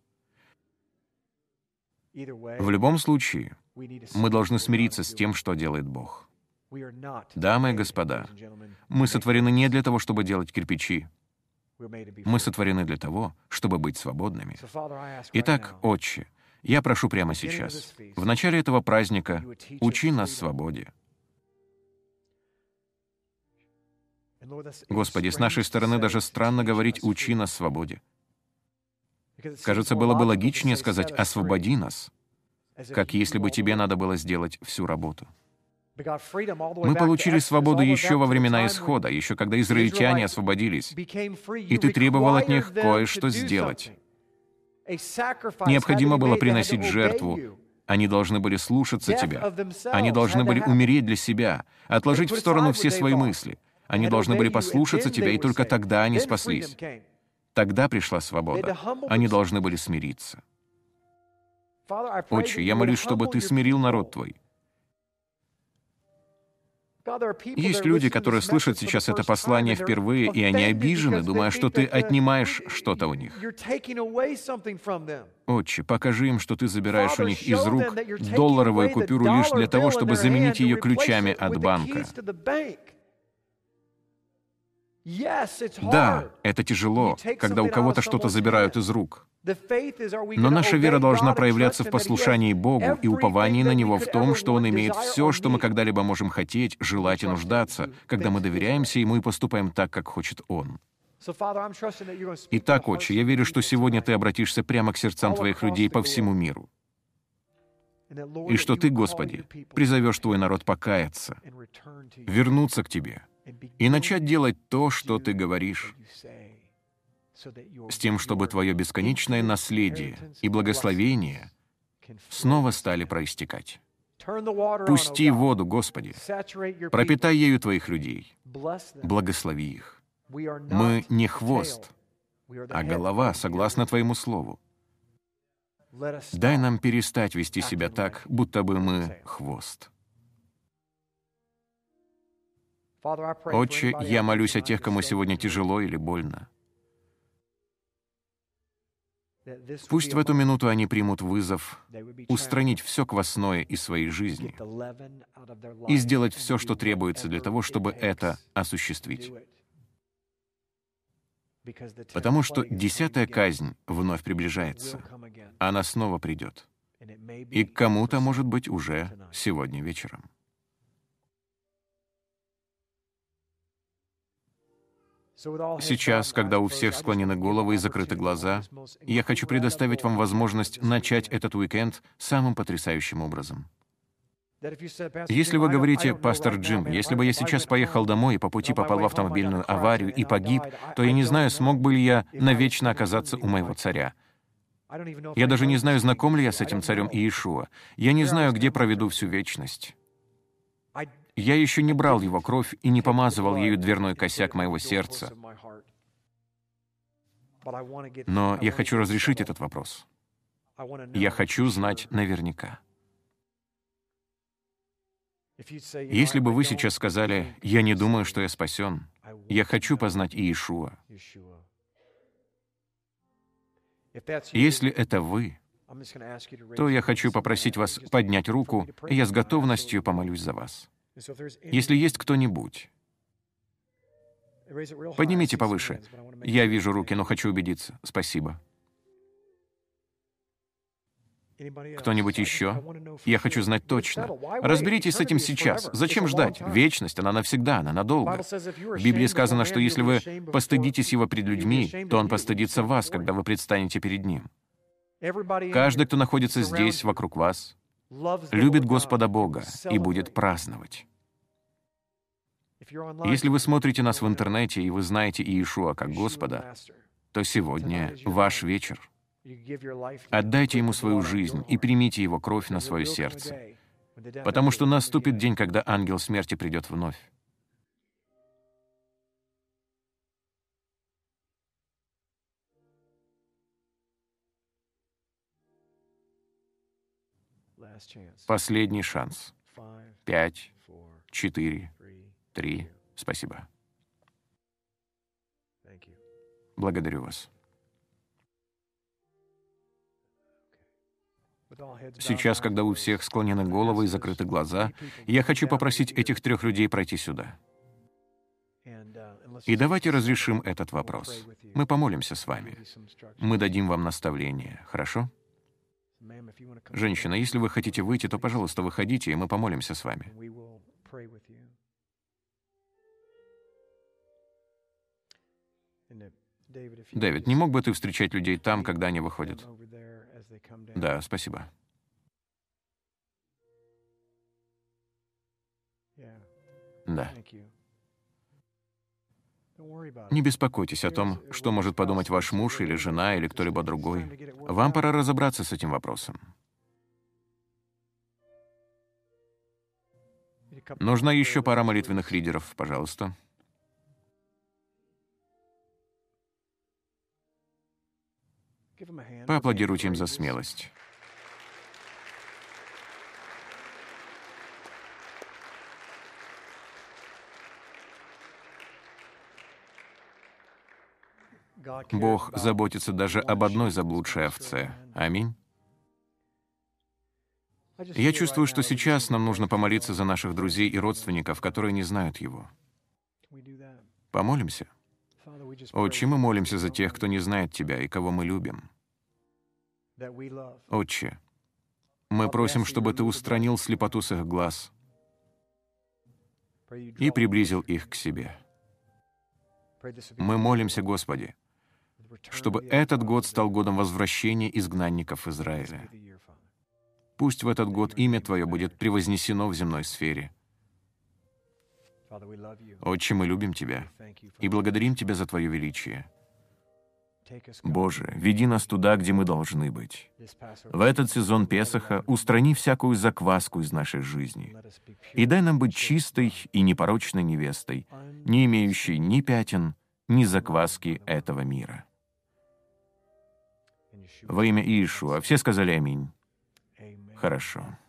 В любом случае, мы должны смириться с тем, что делает Бог. Дамы и господа, мы сотворены не для того, чтобы делать кирпичи. Мы сотворены для того, чтобы быть свободными. Итак, Отче, я прошу прямо сейчас, в начале этого праздника, учи нас свободе. Господи, с нашей стороны даже странно говорить «учи нас свободе». Кажется, было бы логичнее сказать «освободи нас», как если бы тебе надо было сделать всю работу. Мы получили свободу еще во времена Исхода, еще когда израильтяне освободились, и ты требовал от них кое-что сделать. Необходимо было приносить жертву. Они должны были слушаться тебя. Они должны были умереть для себя, отложить в сторону все свои мысли. Они должны были послушаться тебя, и только тогда они спаслись. Тогда пришла свобода. Они должны были смириться. Отче, я молюсь, чтобы ты смирил народ твой. Есть люди, которые слышат сейчас это послание впервые, и они обижены, думая, что ты отнимаешь что-то у них. Отче, покажи им, что ты забираешь у них из рук долларовую купюру лишь для того, чтобы заменить ее ключами от банка. Да, это тяжело, когда у кого-то что-то забирают из рук. Но наша вера должна проявляться в послушании Богу и уповании на Него в том, что Он имеет все, что мы когда-либо можем хотеть, желать и нуждаться, когда мы доверяемся Ему и поступаем так, как хочет Он. Итак, Отче, я верю, что сегодня Ты обратишься прямо к сердцам Твоих людей по всему миру. И что Ты, Господи, призовешь Твой народ покаяться, вернуться к Тебе и начать делать то, что Ты говоришь, с тем, чтобы Твое бесконечное наследие и благословение снова стали проистекать. Пусти воду, Господи, пропитай ею Твоих людей, благослови их. Мы не хвост, а голова, согласно Твоему слову. Дай нам перестать вести себя так, будто бы мы хвост. Отче, я молюсь о тех, кому сегодня тяжело или больно. Пусть в эту минуту они примут вызов устранить все квасное из своей жизни и сделать все, что требуется для того, чтобы это осуществить. Потому что десятая казнь вновь приближается. Она снова придет. И к кому-то, может быть, уже сегодня вечером. Сейчас, когда у всех склонены головы и закрыты глаза, я хочу предоставить вам возможность начать этот уикенд самым потрясающим образом. Если вы говорите, пастор Джим, если бы я сейчас поехал домой и по пути попал в автомобильную аварию и погиб, то я не знаю, смог бы ли я навечно оказаться у моего царя. Я даже не знаю, знаком ли я с этим царем Иешуа. Я не знаю, где проведу всю вечность. Я еще не брал его кровь и не помазывал ею дверной косяк моего сердца. Но я хочу разрешить этот вопрос. Я хочу знать наверняка. Если бы вы сейчас сказали, «Я не думаю, что я спасен. Я хочу познать Иешуа». Если это вы, то я хочу попросить вас поднять руку, и я с готовностью помолюсь за вас. Если есть кто-нибудь, поднимите повыше. Я вижу руки, но хочу убедиться. Спасибо. Кто-нибудь еще? Я хочу знать точно. Разберитесь с этим сейчас. Зачем ждать? Вечность, она навсегда, она надолго. В Библии сказано, что если вы постыдитесь его пред людьми, то он постыдится вас, когда вы предстанете перед ним. Каждый, кто находится здесь, вокруг вас, любит Господа Бога и будет праздновать. Если вы смотрите нас в интернете, и вы знаете Иешуа как Господа, то сегодня ваш вечер. Отдайте Ему свою жизнь и примите Его кровь на свое сердце, потому что наступит день, когда ангел смерти придет вновь. Последний шанс. Пять, четыре, три. Спасибо. Благодарю вас. Сейчас, когда у всех склонены головы и закрыты глаза, я хочу попросить этих трех людей пройти сюда. И давайте разрешим этот вопрос. Мы помолимся с вами. Мы дадим вам наставление, хорошо? Женщина, если вы хотите выйти, то, пожалуйста, выходите, и мы помолимся с вами. Дэвид, не мог бы ты встречать людей там, когда они выходят? Да, спасибо. Да. Не беспокойтесь о том, что может подумать ваш муж или жена или кто-либо другой. Вам пора разобраться с этим вопросом. Нужна еще пара молитвенных лидеров, пожалуйста. Поаплодируйте им за смелость. Бог заботится даже об одной заблудшей овце. Аминь. Я чувствую, что сейчас нам нужно помолиться за наших друзей и родственников, которые не знают Его. Помолимся? Отче, мы молимся за тех, кто не знает Тебя и кого мы любим. Отче, мы просим, чтобы Ты устранил слепоту с их глаз и приблизил их к себе. Мы молимся, Господи, чтобы этот год стал годом возвращения изгнанников Израиля. Пусть в этот год имя Твое будет превознесено в земной сфере. Отче, мы любим Тебя и благодарим Тебя за Твое величие. Боже, веди нас туда, где мы должны быть. В этот сезон Песаха устрани всякую закваску из нашей жизни и дай нам быть чистой и непорочной невестой, не имеющей ни пятен, ни закваски этого мира. Во имя Иешуа. Все сказали аминь. Хорошо.